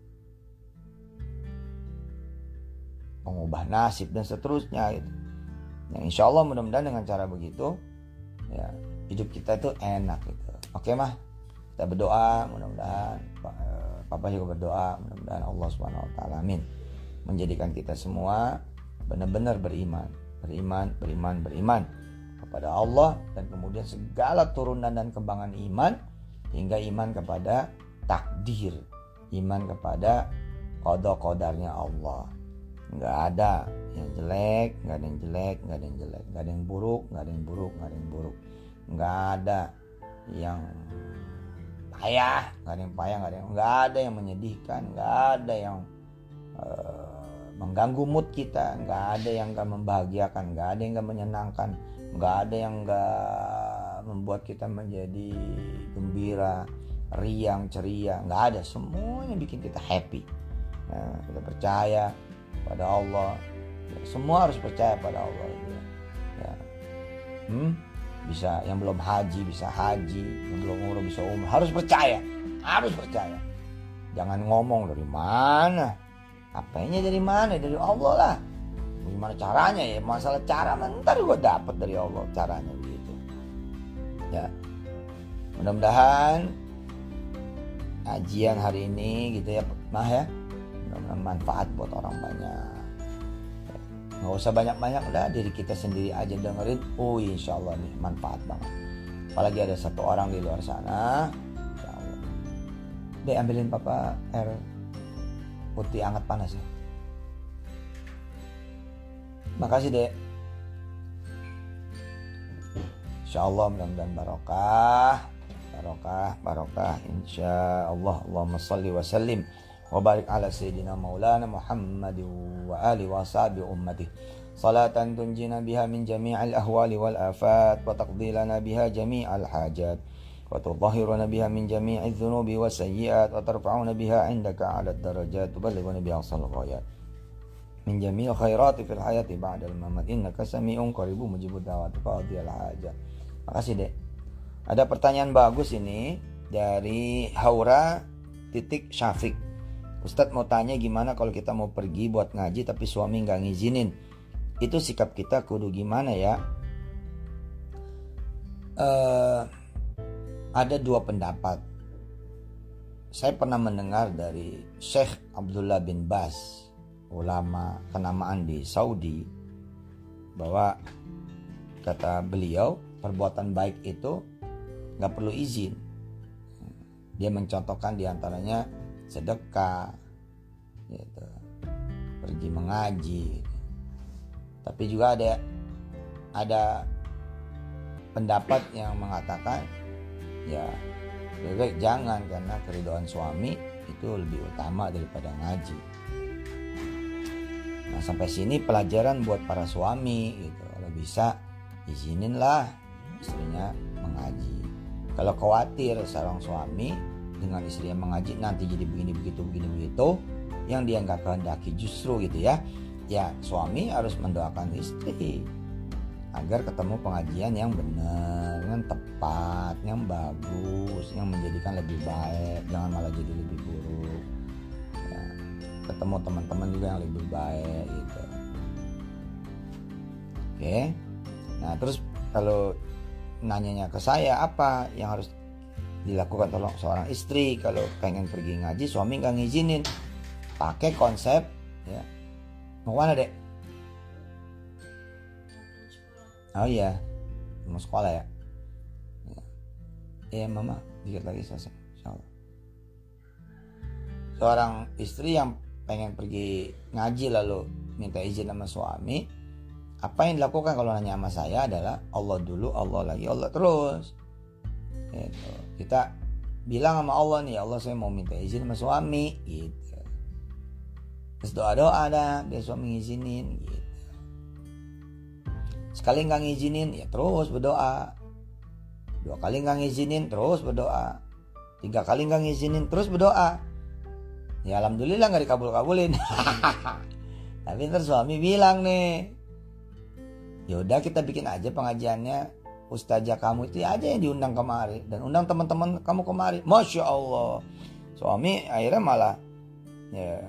pengubah nasib dan seterusnya gitu. Yang insya Allah mudah-mudahan dengan cara begitu ya hidup kita itu enak gitu. Oke mah, kita berdoa mudah-mudahan Papa juga berdoa mudah-mudahan Allah Subhanahu Wa Taala amin menjadikan kita semua benar-benar beriman, beriman, beriman, beriman kepada Allah, dan kemudian segala turunan dan kembangan iman, hingga iman kepada takdir, iman kepada qada qadarnya Allah. Nggak ada yang jelek, nggak ada yang jelek, nggak ada yang jelek, nggak ada yang buruk, nggak ada yang buruk, nggak ada yang buruk, nggak ada yang payah, nggak ada yang payah, nggak ada yang nggak ada yang menyedihkan, nggak ada yang uh, mengganggu mood kita, nggak ada yang nggak membahagiakan, nggak ada yang nggak menyenangkan, nggak ada yang nggak membuat kita menjadi gembira, riang, ceria, nggak ada. Semuanya bikin kita happy. Nah, kita percaya pada Allah, ya, semua harus percaya pada Allah gitu ya. Ya. Hmm? Bisa yang belum haji bisa haji, yang belum umroh bisa umroh, harus percaya, harus percaya. Jangan ngomong dari mana, apanya dari mana, dari Allah lah. Gimana caranya ya? Masalah cara, ntar gue dapat dari Allah caranya begitu. Ya, mudah-mudahan kajian hari ini gitu ya, mah ya. Mudah-mudahan manfaat buat orang banyak. Nggak usah banyak-banyak lah, diri kita sendiri aja dengerin. Oh insya Allah nih manfaat banget. Apalagi ada satu orang di luar sana. Insya Allah. Dek, ambilin papa air putih hangat panas ya. Makasih dek. Insya Allah mudah-mudahan barokah, barokah, barokah. Insya Allah. Allahumma salli wa sallim wa barik ala sayyidina maulana Muhammad wa ali wa sahbihi ummati salatan tunjina biha min jami'il ahwali wal afat wa taqdilana biha jami'al hajat wa tudahhiruna biha min jami'iz dhunubi was sayyi'at wa tarfa'una biha 'indaka 'ala darajat tuballighuna biha aqsal ghayat min jami'il khairati fil hayati ba'dal mamat innaka sami'un qaribun mujibud da'wati qadiyal hajat. Makasih dek. Ada pertanyaan bagus ini dari Haura titik Syafiq. Ustadz mau tanya, gimana kalau kita mau pergi buat ngaji tapi suami gak ngizinin? Itu sikap kita kudu gimana ya? Uh, ada dua pendapat. Saya pernah mendengar dari Syekh Abdullah bin Baz, ulama kenamaan di Saudi, bahwa kata beliau perbuatan baik itu gak perlu izin. Dia mencontohkan diantaranya sedekah, gitu, pergi mengaji, gitu. Tapi juga ada ada pendapat yang mengatakan ya lebih baik jangan, karena keridhaan suami itu lebih utama daripada ngaji. Nah sampai sini pelajaran buat para suami gitu, kalau bisa izininlah istrinya mengaji. Kalau khawatir seorang suami dengan istri yang mengaji nanti jadi begini begitu begini begitu yang dia nggak kehendaki justru gitu ya, ya suami harus mendoakan istri agar ketemu pengajian yang benar, yang tepat, yang bagus, yang menjadikan lebih baik, jangan malah jadi lebih buruk ya, ketemu teman-teman juga yang lebih baik gitu. Oke, nah terus kalau nanyanya ke saya apa yang harus dilakukan tolong seorang istri kalau pengen pergi ngaji suami nggak ngizinin, pakai konsep ya, mau mana dek? Oh iya mau sekolah ya, iya ya, mama dikit lagi selesai insyaallah. Seorang istri yang pengen pergi ngaji lalu minta izin sama suami, apa yang dilakukan kalau nanya sama saya adalah Allah dulu, Allah lagi, Allah terus gitu. Kita bilang sama Allah nih, Allah saya mau minta izin sama suami gitu. Terus doa-doa dah biar suami ngizinin gitu. Sekali gak ngizinin ya terus berdoa. Dua kali gak ngizinin terus berdoa. Tiga kali gak ngizinin terus berdoa. Ya alhamdulillah gak dikabul-kabulin. Tapi ntar suami bilang nih, yaudah kita bikin aja pengajiannya ustazah kamu itu aja yang diundang kemari dan undang teman-teman kamu kemari. Masya Allah. Suami akhirnya malah ya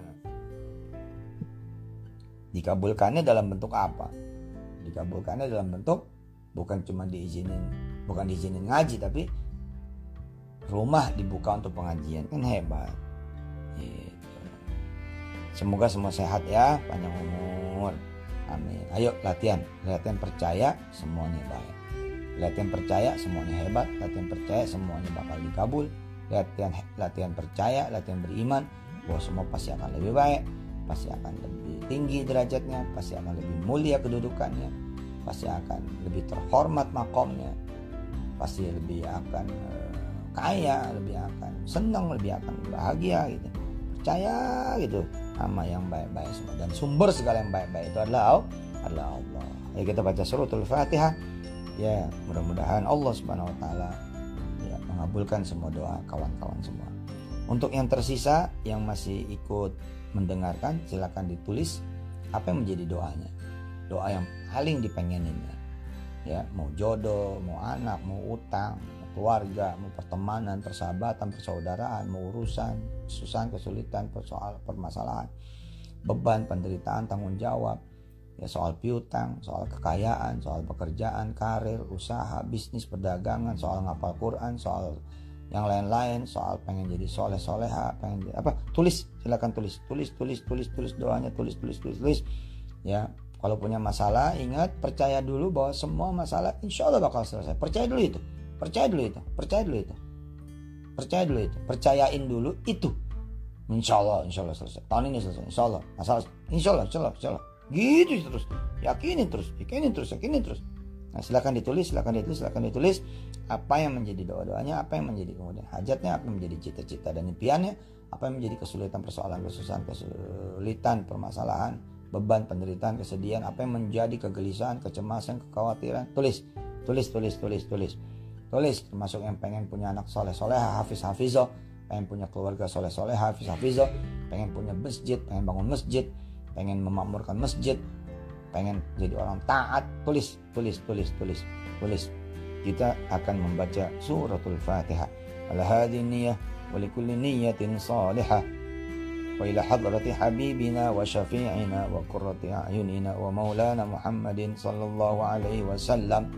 dikabulkannya dalam bentuk apa? Dikabulkannya dalam bentuk bukan cuma diizinin, bukan diizinin ngaji, tapi rumah dibuka untuk pengajian. Kan hebat gitu. Semoga semua sehat ya, panjang umur, amin. Ayo latihan, latihan percaya semuanya baik. Latihan percaya semuanya hebat, latihan percaya semuanya bakal dikabul, latihan latihan percaya, latihan beriman bahwa semua pasti akan lebih baik, pasti akan lebih tinggi derajatnya, pasti akan lebih mulia kedudukannya, pasti akan lebih terhormat makomnya, pasti lebih akan uh, kaya, lebih akan senang, lebih akan bahagia gitu. Percaya gitu sama yang baik-baik semua, dan sumber segala yang baik-baik itu adalah adalah Allah. Ya, kita baca suratul Fatihah. Ya, mudah-mudahan Allah Subhanahu wa taala ya mengabulkan semua doa kawan-kawan semua. Untuk yang tersisa yang masih ikut mendengarkan, silakan ditulis apa yang menjadi doanya. Doa yang paling dipengeninnya. Ya, mau jodoh, mau anak, mau utang, mau keluarga, mau pertemanan, persahabatan, persaudaraan, mau urusan, kesusahan, kesulitan, persoal permasalahan, beban, penderitaan, tanggung jawab, ya soal piutang, soal kekayaan, soal pekerjaan, karir, usaha, bisnis, perdagangan, soal ngapal Quran, soal yang lain-lain, soal pengen jadi soleh soleha, pengen jadi apa, tulis, silakan tulis, tulis, tulis, tulis, tulis doanya, tulis, tulis, tulis, tulis. Ya, kalau punya masalah, ingat percaya dulu bahwa semua masalah insya Allah bakal selesai. Percaya dulu itu, percaya dulu itu, percaya dulu itu, percaya dulu itu, percayain dulu itu. Insya Allah, insya Allah selesai. Tahun ini selesai, insya Allah. Masalah, insya Allah, insya Allah, insya Allah. Gitu terus, yakinin terus, yakinin terus, yakinin terus. Nah, silakan ditulis, silakan ditulis, silakan ditulis apa yang menjadi doa-doanya, apa yang menjadi kemudian hajatnya, apa yang menjadi cita-cita dan impiannya, apa yang menjadi kesulitan, persoalan, kesusahan, kesulitan, permasalahan, beban, penderitaan, kesedihan, apa yang menjadi kegelisahan, kecemasan, kekhawatiran. Tulis, tulis, tulis, tulis, tulis, tulis. Termasuk yang pengen punya anak soleh soleha, hafiz hafizoh, pengen punya keluarga soleh soleha, hafiz hafizoh, pengen punya masjid, pengen bangun masjid, pengen memakmurkan masjid, pengen jadi orang taat. Tulis, tulis, tulis, tulis, tulis. Kita akan membaca suratul Fatihah. Ala hadhihi niyyah wa likulli niyyatin salihah. Wa ila hadrati habibina wa syafi'ina wa qurrati a'yunina wa maulana Muhammadin sallallahu alaihi wasallam.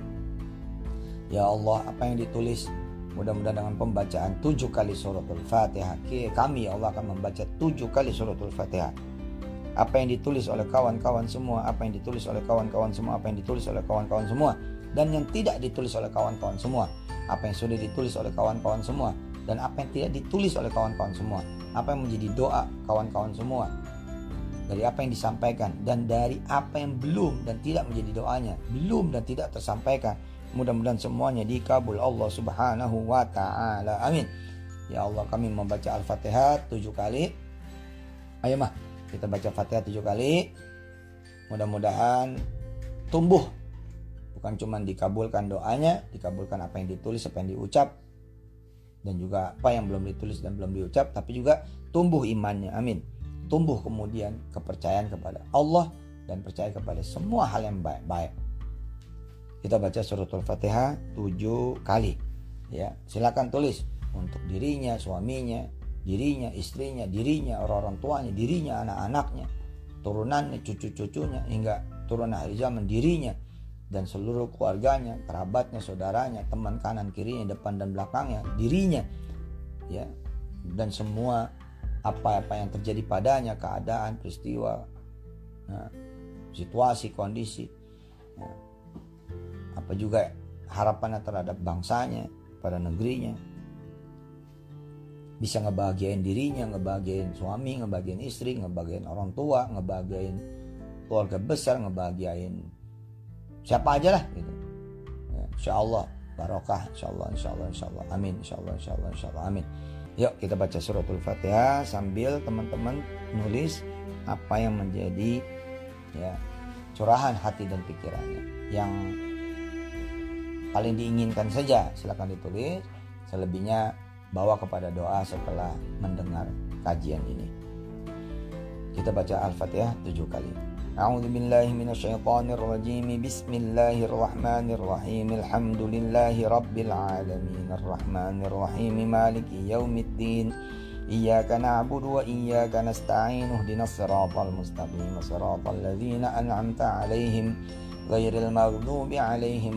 Ya Allah, apa yang ditulis mudah-mudahan dengan pembacaan tujuh kali suratul Fatihah, kami ya Allah akan membaca tujuh kali suratul Fatihah. Apa yang ditulis oleh kawan-kawan semua, apa yang ditulis oleh kawan-kawan semua, apa yang ditulis oleh kawan-kawan semua, dan yang tidak ditulis oleh kawan-kawan semua, apa yang sudah ditulis oleh kawan-kawan semua, dan apa yang tidak ditulis oleh kawan-kawan semua, apa yang menjadi doa kawan-kawan semua, dari apa yang disampaikan, dan dari apa yang belum dan tidak menjadi doanya, belum dan tidak tersampaikan. Mudah-mudahan semuanya dikabul Allah Subhanahu wa ta'ala. Amin. Ya Allah, kami membaca Al-Fatihah tujuh kali. Ayo mah, kita baca Fatihah tujuh kali. Mudah-mudahan tumbuh. Bukan cuma dikabulkan doanya, dikabulkan apa yang ditulis, apa yang diucap, dan juga apa yang belum ditulis dan belum diucap, tapi juga tumbuh imannya. Amin. Tumbuh kemudian kepercayaan kepada Allah dan percaya kepada semua hal yang baik-baik. Kita baca suratul Fatihah tujuh kali. Ya, silakan tulis untuk dirinya, suaminya, dirinya, istrinya, dirinya, orang-orang tuanya, dirinya, anak-anaknya, turunannya, cucu-cucunya, hingga turun akhir zaman, dirinya dan seluruh keluarganya, kerabatnya, saudaranya, teman kanan kirinya, depan dan belakangnya, dirinya, ya, dan semua apa-apa yang terjadi padanya, keadaan, peristiwa, nah, situasi, kondisi, nah, apa juga harapannya terhadap bangsanya, pada negerinya, bisa ngebahagiain dirinya, ngebahagiain suami, ngebahagiain istri, ngebahagiain orang tua, ngebahagiain keluarga besar, ngebahagiain siapa aja lah gitu. Ya, insya Allah barokah, insya Allah, insya Allah, insya Allah, amin, insya Allah, insya Allah, insya Allah, amin. Yuk kita baca suratul Fatihah sambil teman-teman nulis apa yang menjadi ya curahan hati dan pikirannya, yang paling diinginkan saja silakan ditulis. Selebihnya bawa kepada doa setelah mendengar kajian ini. Kita baca Al-Fatihah tujuh kali. A'udzu billahi minasyaitonir rajim. Bismillahirrahmanirrahim. Alhamdulillahi rabbil alamin. Arrahmanir rahim. Maliki yaumiddin. Iyyaka na'budu wa iyyaka nasta'in. Ihdinas siratal mustaqim. Siratal ladzina an'amta 'alaihim ghairil maghdubi 'alaihim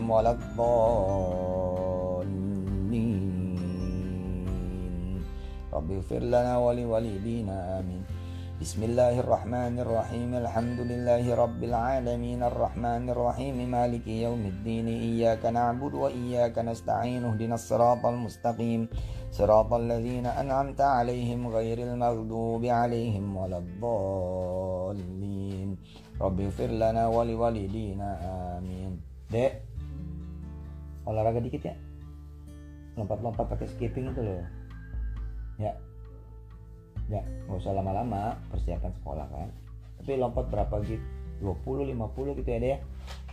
waladdallin. Rabbi ighfir lana wa liwalidina amin. Bismillahirrahmanirrahim. Alhamdulillahi rabbil alamin arrahmanir rahim maliki yaumiddin. Iyyaka na'budu wa iyyaka nasta'in. Ihdinas siratal mustaqim. Siratal ladzina an'amta 'alaihim ghairil maghdubi 'alaihim waladdallin. Rabbighfir lana wa liwalidina amin. Dek, olahraga dikit ya. Lompat-lompat pakai skipping itu loh. Ya. Ya, nggak usah lama-lama, persiapan sekolah kan. Tapi lompat berapa gitu? dua puluh, lima puluh gitu ya deh ya.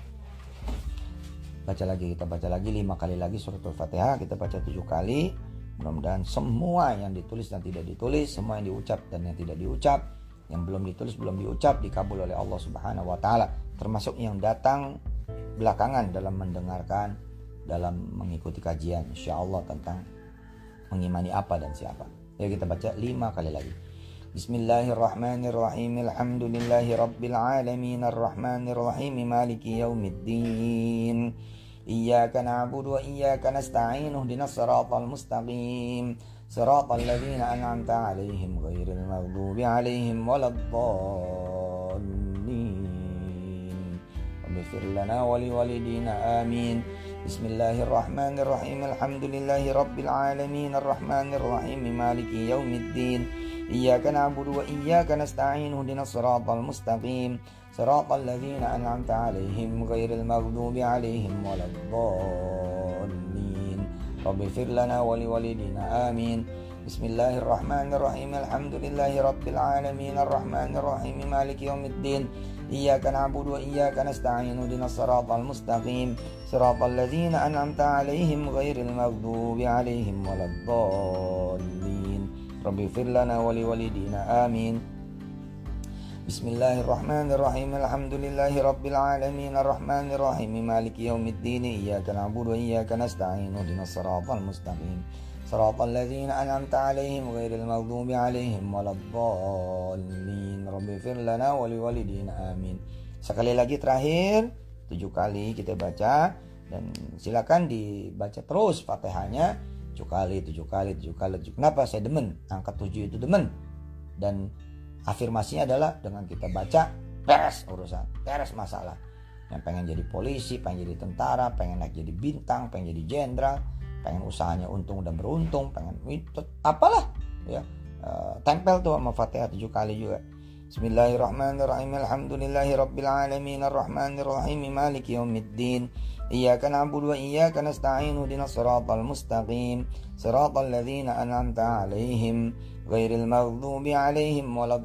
Baca lagi, kita baca lagi lima kali lagi surat Al-Fatihah. Kita baca tujuh kali. Mudah-mudahan semua yang ditulis dan tidak ditulis, semua yang diucap dan yang tidak diucap, yang belum ditulis belum diucap, dikabul oleh Allah Subhanahu wa taala. Termasuk yang datang belakangan dalam mendengarkan, dalam mengikuti kajian insyaallah tentang mengimani apa dan siapa. Ya, kita baca lima kali lagi. Bismillahirrahmanirrahim. Alhamdulillahi rabbil alamin arrahmanir rahim maliki yaumiddin. Iyyaka na'budu wa iyyaka nasta'in. Ihdinas siratal mustaqim. Siratal ladzina an'amta 'alaihim ghairil maghdubi 'alaihim waladdallin. Rabbighfir lana wa liwalidina amin. Bismillahirrahmanirrahim. Alhamdulillahi rabbil alamin arrahmanir rahim maliki yaumiddin. Iyyaka na'budu wa iyyaka nasta'in. Ihdinas siratal mustaqim. Siratal ladzina an'amta 'alaihim ghairil maghdubi 'alaihim waladdallin. Rabbighfir lana wa liwalidina amin. Bismillahirrahmanirrahim. Alhamdulillahi rabbil alamin arrahmanir rahim maliki yaumiddin. Iyyaka na'budu wa iyyaka nasta'in. Ihdinas siratal mustaqim. Siratal ladzina an'amta 'alaihim ghairil maghdubi 'alaihim waladdallin. Rabbighfir lana wa liwalidina amin. Bismillahirrahmanirrahim. Alhamdulillahi rabbil alamin arrahmanir rahim maliki yaumiddin. Iyyaka na'budu wa iyyaka nasta'in. Ihdinas siratal mustaqim. Siratal ladzina an'amta 'alaihim ghairil maghdubi 'alaihim waladdallin. Rabbighfir lana wa liwalidina amin. Sekali lagi terakhir, tujuh kali kita baca, dan silakan dibaca terus Fatihahnya tujuh kali, tujuh kali, tujuh kali. Kenapa saya demen? Angka tujuh itu demen. Dan afirmasinya adalah dengan kita baca, beres urusan, beres masalah. Yang pengen jadi polisi, pengen jadi tentara, pengen naik jadi bintang, pengen jadi jenderal, pengen usahanya untung dan beruntung, pengen itu apalah ya, uh, tempel tuh sama Fatihah tujuh kali juga. Bismillahirrahmanirrahim. Alhamdulillahi rabbil alamin arrahmanir rahim maliki yaumiddin. Iyyaka na'budu wa iyyaka nasta'in. Ihdinas siratal mustaqim. Siratal ladzina an'amta 'alaihim ghairil maghdubi 'alaihim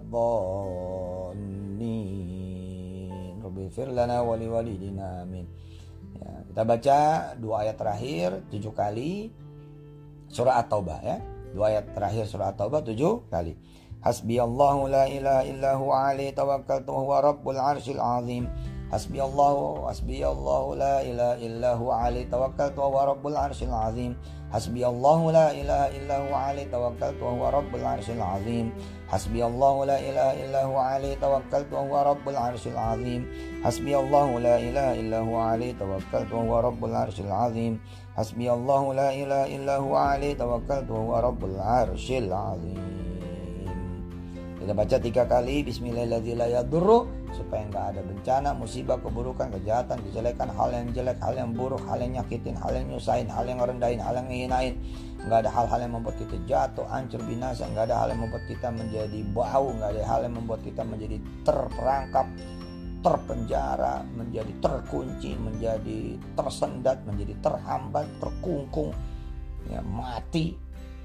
waladdallin. Rabbighfir lana wa liwalidina amin. Ya, kita baca dua ayat terakhir tujuh kali surah At-Taubah ya. Dua ayat terakhir surah At-Taubah tujuh kali. Hasbiyallahu la ilaha illahu alaihi tawakkaltu huwa rabbul arsyil azim. Hasbiyallahu hasbiyallahu la ilaha illahu alaihi tawakkaltu huwa rabbul arsyil azim. Hasbiyallahu la ilaha illahu alaihi tawakkaltu huwa rabbul arsyil azim. Hasbiyallahu la ilaha illahu alaihi tawakkaltu huwa rabbul arsyil azim. Hasbiyallahu la ilaha illahu alaihi tawakkaltu huwa rabbul arsyil azim. Hasbiyallahu la ilaha illahu alaihi tawakkaltu huwa rabbul arsyil azim. Kita baca tiga kali Bismillahirrahmanirrahim supaya nggak ada bencana, musibah, keburukan, kejahatan, kejelekan, hal yang jelek, hal yang buruk, hal yang nyakitin, hal yang nyusahin, hal yang rendahin, hal yang ngehinain. Nggak ada hal-hal yang membuat kita jatuh, hancur, binasa. Nggak ada hal yang membuat kita menjadi bau. Nggak ada hal yang membuat kita menjadi terperangkap, terpenjara, menjadi terkunci, menjadi tersendat, menjadi terhambat, terkungkung, ya, mati,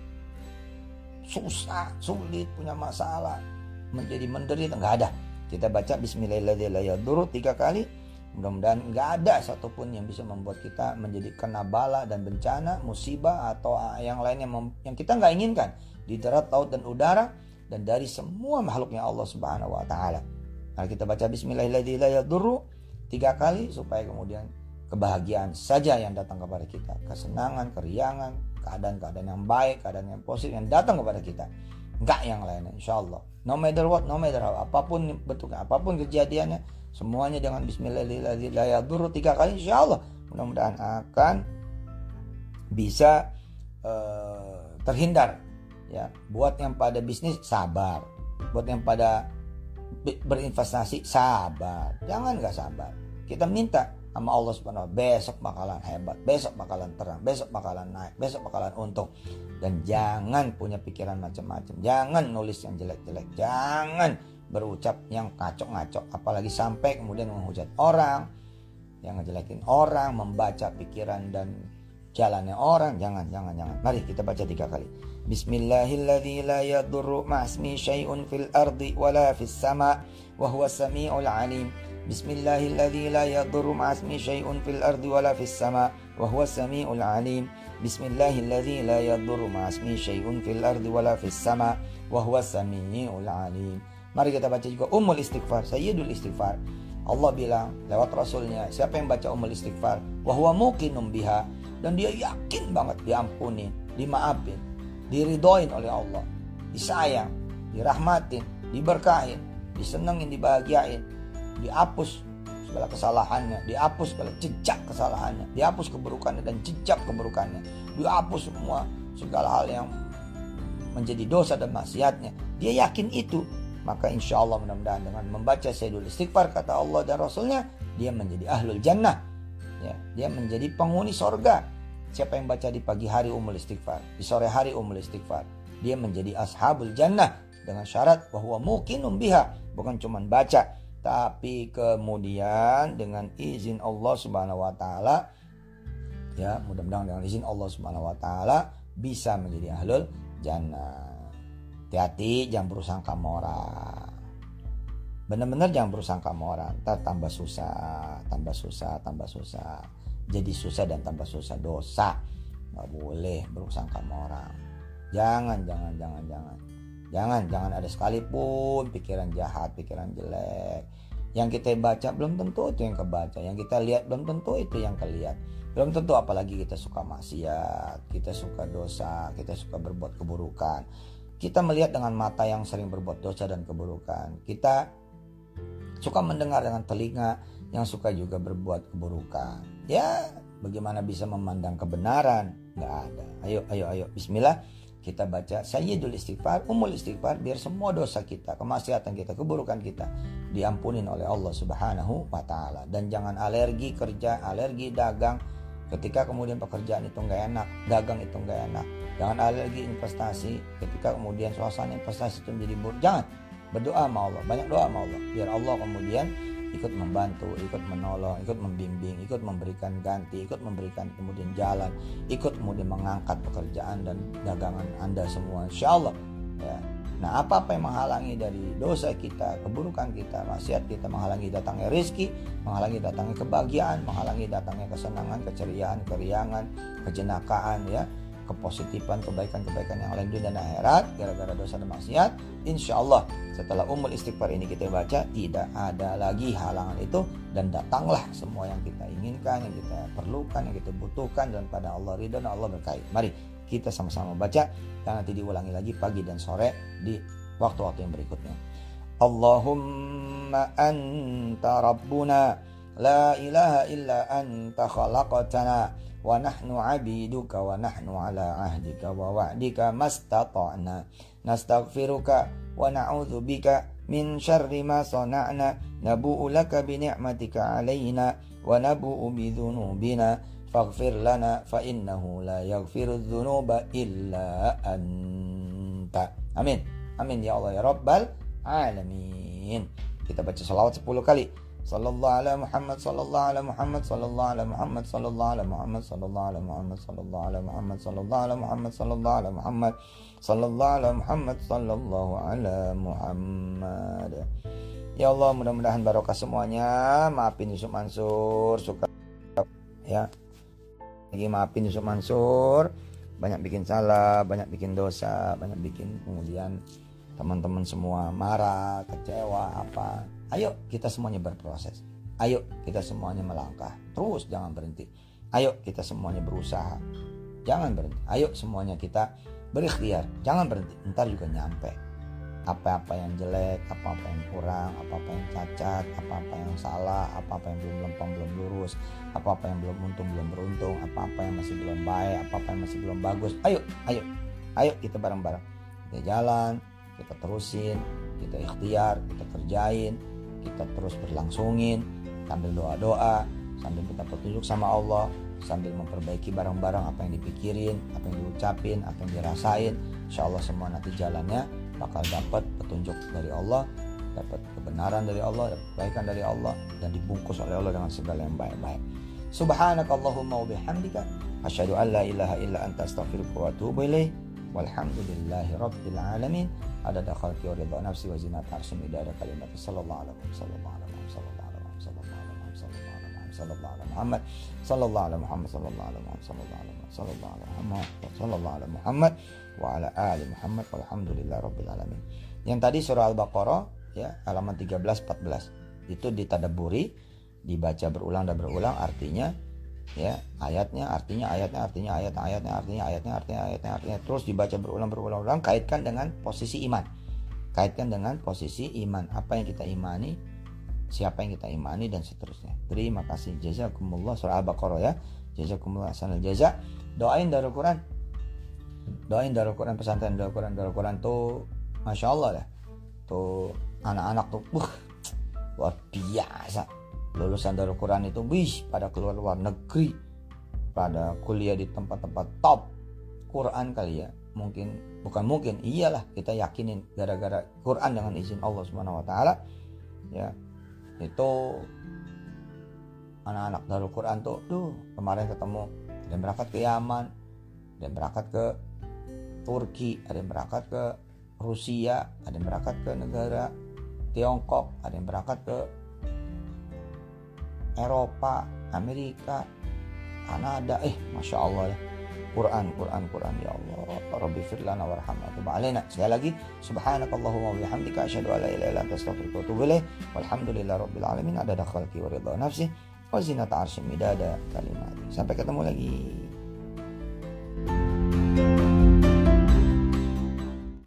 susah, sulit, punya masalah, menjadi menderita. Nggak ada. Kita baca Bismillahirrahmanirrahim tiga kali. Mudah-mudahan nggak ada satupun yang bisa membuat kita menjadi kena bala dan bencana, musibah atau yang lain yang, mem- yang kita nggak inginkan di darat, laut dan udara, dan dari semua makhluknya Allah Subhanahu Wa Taala. Nah, kita baca Bismillahirrahmanirrahim tiga kali supaya kemudian kebahagiaan saja yang datang kepada kita, kesenangan, keriangan, keadaan-keadaan yang baik, keadaan yang positif yang datang kepada kita, enggak yang lainnya, insyaallah. No matter what, no matter how, apapun bentuknya, apapun kejadiannya, semuanya dengan Bismillahirrahmanirrahim tiga kali, insyaallah. Mudah-mudahan akan bisa uh, terhindar. Ya, buat yang pada bisnis sabar, Buat yang pada berinvestasi, sabar. Jangan gak sabar. Kita minta sama Allah subhanahu wa ta'ala, besok bakalan hebat, besok bakalan terang, besok bakalan naik, besok bakalan untung. Dan jangan punya pikiran macam-macam. Jangan nulis yang jelek-jelek. Jangan berucap yang ngacok-ngacok. Apalagi sampai kemudian menghujat orang, yang ngejelekin orang, membaca pikiran dan jalannya orang. Jangan, jangan, jangan. Mari kita baca tiga kali. Bismillahilladzi la yadurru ma'asmi syai'un fil ardi wala fis sama' wa huwa sami'ul alim. Bismillahilladzi la yadurru ma'asmi syai'un fil ardi wala fis sama' wa huwa sami'ul alim. Bismillahilladzi la yadurru ma'asmi syai'un fil ardi wala fis sama' wa huwa sami'ul alim. Mari kita baca juga Ummul Istighfar, Sayyidul Istighfar. Allah bilang lewat Rasulnya, siapa yang baca Ummul Istighfar, wa huwa muqinum biha, dan dia yakin banget diampuni, dimaafin, diridhoin oleh Allah, disayang, dirahmatin, diberkahin, disenengin, dibahagiain, dihapus segala kesalahannya, dihapus segala jejak kesalahannya, dihapus keburukannya dan jejak keburukannya, dihapus semua segala hal yang menjadi dosa dan maksiatnya. Dia yakin itu. Maka insya Allah mudah-mudahan dengan membaca Sayyidul Istighfar, kata Allah dan Rasulnya, dia menjadi ahlul jannah, ya, dia menjadi penghuni sorga. Siapa yang baca di pagi hari Ummul Istighfar, di sore hari Ummul Istighfar, dia menjadi ashabul jannah, dengan syarat bahwa muqinum biha, bukan cuma baca, tapi kemudian dengan izin Allah Subhanahu wa taala, ya, mudah-mudahan dengan izin Allah Subhanahu wa taala bisa menjadi ahlul jannah. Hati-hati, jangan bersangka mora. Benar-benar jangan bersangka mora. Ntar tambah susah, tambah susah, tambah susah. Jadi susah dan tambah susah, dosa. Gak boleh bersangka mora. Jangan, jangan, jangan, jangan. Jangan, jangan ada sekalipun pikiran jahat, pikiran jelek. Yang kita baca belum tentu itu yang kebaca. Yang kita lihat belum tentu itu yang kelihat. Belum tentu, apalagi kita suka maksiat, kita suka dosa, kita suka berbuat keburukan. Kita melihat dengan mata yang sering berbuat dosa dan keburukan. Kita suka mendengar dengan telinga yang suka juga berbuat keburukan. Ya, bagaimana bisa memandang kebenaran? Gak ada. Ayo, ayo, ayo. Bismillah. Kita baca Sayyidul Istighfar, Ummul Istighfar, biar semua dosa kita, kemaksiatan kita, keburukan kita diampunin oleh Allah Subhanahu wa ta'ala. Dan jangan alergi kerja, alergi dagang. Ketika kemudian pekerjaan itu gak enak, dagang itu gak enak. Jangan alergi investasi ketika kemudian suasana investasi itu menjadi buruk. Jangan. Berdoa sama Allah, banyak doa sama Allah, biar Allah kemudian ikut membantu, ikut menolong, ikut membimbing, ikut memberikan ganti, ikut memberikan kemudian jalan, ikut kemudian mengangkat pekerjaan dan dagangan Anda semua, insya Allah, ya. Nah, apa-apa yang menghalangi dari dosa kita, keburukan kita, maksiat kita, menghalangi datangnya rezeki, menghalangi datangnya kebahagiaan, menghalangi datangnya kesenangan, keceriaan, keriangan, kejenakaan, ya, kepositifan, kebaikan-kebaikan yang lain dunia dan akhirat gara-gara dosa dan maksiat, insya Allah setelah Ummul Istighfar ini kita baca, tidak ada lagi halangan itu, dan datanglah semua yang kita inginkan, yang kita perlukan, yang kita butuhkan, dan pada Allah ridha dan Allah berkahi. Mari kita sama-sama baca, dan nanti diulangi lagi pagi dan sore di waktu-waktu yang berikutnya. Allahumma anta rabbuna la ilaha illa anta khalaqtana wa nahnu abiduka wa nahnu ala ahdika wa wa'dika mastata'na nastaghfiruka wa na'udzu bika min syarri ma sana'na nabu'u laka bi ni'matika 'alaina wa nabu'u bi dzunubina faghfir lana fa innahu la yaghfiru dzunuba illa anta. Amin. Amin ya Allah ya Rabbal alamin. Kita baca salawat sepuluh kali. Sallallahu ala Muhammad sallallahu ala Muhammad sallallahu ala Muhammad sallallahu ala Muhammad sallallahu ala Muhammad sallallahu ala Muhammad sallallahu ala Muhammad sallallahu ala Muhammad sallallahu ala Muhammad sallallahu ala Muhammad. Ya Allah, mudah-mudahan barokah semuanya. Maafin Yusuf Mansur, suka ya. Lagi maafin Yusuf Mansur, banyak bikin salah, banyak bikin dosa, banyak bikin kemudian teman-teman semua marah, kecewa, apa. Ayo kita semuanya berproses. Ayo kita semuanya melangkah. Terus jangan berhenti. Ayo kita semuanya berusaha. Jangan berhenti. Ayo semuanya kita berikhtiar. Jangan berhenti. Ntar juga nyampe. Apa-apa yang jelek, apa-apa yang kurang, apa-apa yang cacat, apa-apa yang salah, apa-apa yang belum lempeng, belum lurus, apa-apa yang belum untung, belum beruntung, apa-apa yang masih belum baik, apa-apa yang masih belum bagus. Ayo, ayo. Ayo kita bareng-bareng. Kita jalan, kita terusin, kita ikhtiar, kita kerjain, kita terus berlangsungin sambil doa-doa, sambil minta petunjuk sama Allah, sambil memperbaiki barang-barang apa yang dipikirin, apa yang diucapin, apa yang dirasain. Insya Allah semua nanti jalannya bakal dapat petunjuk dari Allah, dapat kebenaran dari Allah, dapat kebaikan dari Allah, dan dibungkus oleh Allah dengan segala yang baik-baik. Subhanakallahumma wa bihamdika asyhadu an la ilaha illa anta astaghfiruka wa atubu ilaik. Walhamdulillahi rabbil alamin. Adada khalqi wa ridha nafsi wa zinata arsy midada kalimati sallallahu alaihi sallallahu alaihi sallallahu alaihi sallallahu alaihi sallallahu alaihi Muhammad sallallahu alaihi Muhammad sallallahu alaihi Muhammad sallallahu alaihi sallallahu alaihi Muhammad sallallahu alaihi Muhammad wa ala ali Muhammad walhamdulillahi rabbil alamin. Yang tadi surah Al-Baqarah ya, halaman tiga belas empat belas itu ditadabburi, dibaca berulang dan berulang artinya ya, ayatnya artinya ayatnya artinya ayat ayatnya artinya ayatnya artinya ayatnya artinya terus dibaca berulang berulang ulang, kaitkan dengan posisi iman. Kaitkan dengan posisi iman, apa yang kita imani, siapa yang kita imani, dan seterusnya. Terima kasih. Jazakumullah. Surah Al-Baqarah ya. Jazakumullah ahsanal jaza. Doain Darul Quran. Doain Darul Quran, pesantren Darul Quran. Darul Quran tuh Masya Allah ya. Tuh anak-anak tuh buh, luar biasa. Lulusan Darul Quran itu wih, pada keluar luar negeri, pada kuliah di tempat-tempat top Quran kali ya. Mungkin, bukan mungkin, iyalah kita yakinin gara-gara Quran dengan izin Allah Subhanahu wa taala ya. Itu anak-anak Darul Quran tuh tuh kemarin ketemu, ada yang berangkat ke Yaman, ada yang berangkat ke Turki, ada yang berangkat ke Rusia, ada yang berangkat ke negara Tiongkok, ada yang berangkat ke Eropa, Amerika, Kanada. Eh, Masya Allah ya. Quran, Quran, Quran ya Allah. Rabbi firlana warhamna wa tub alaina. Sekali lagi, subhanakallahumma wa bihamdika asyhadu an la ilaha illa anta astaghfiruka wa atubu ilaik. Walhamdulillahi rabbil alamin. Adada khalqi wa ridha nafsi wa zinata arsy midada kalimati. Sampai ketemu lagi.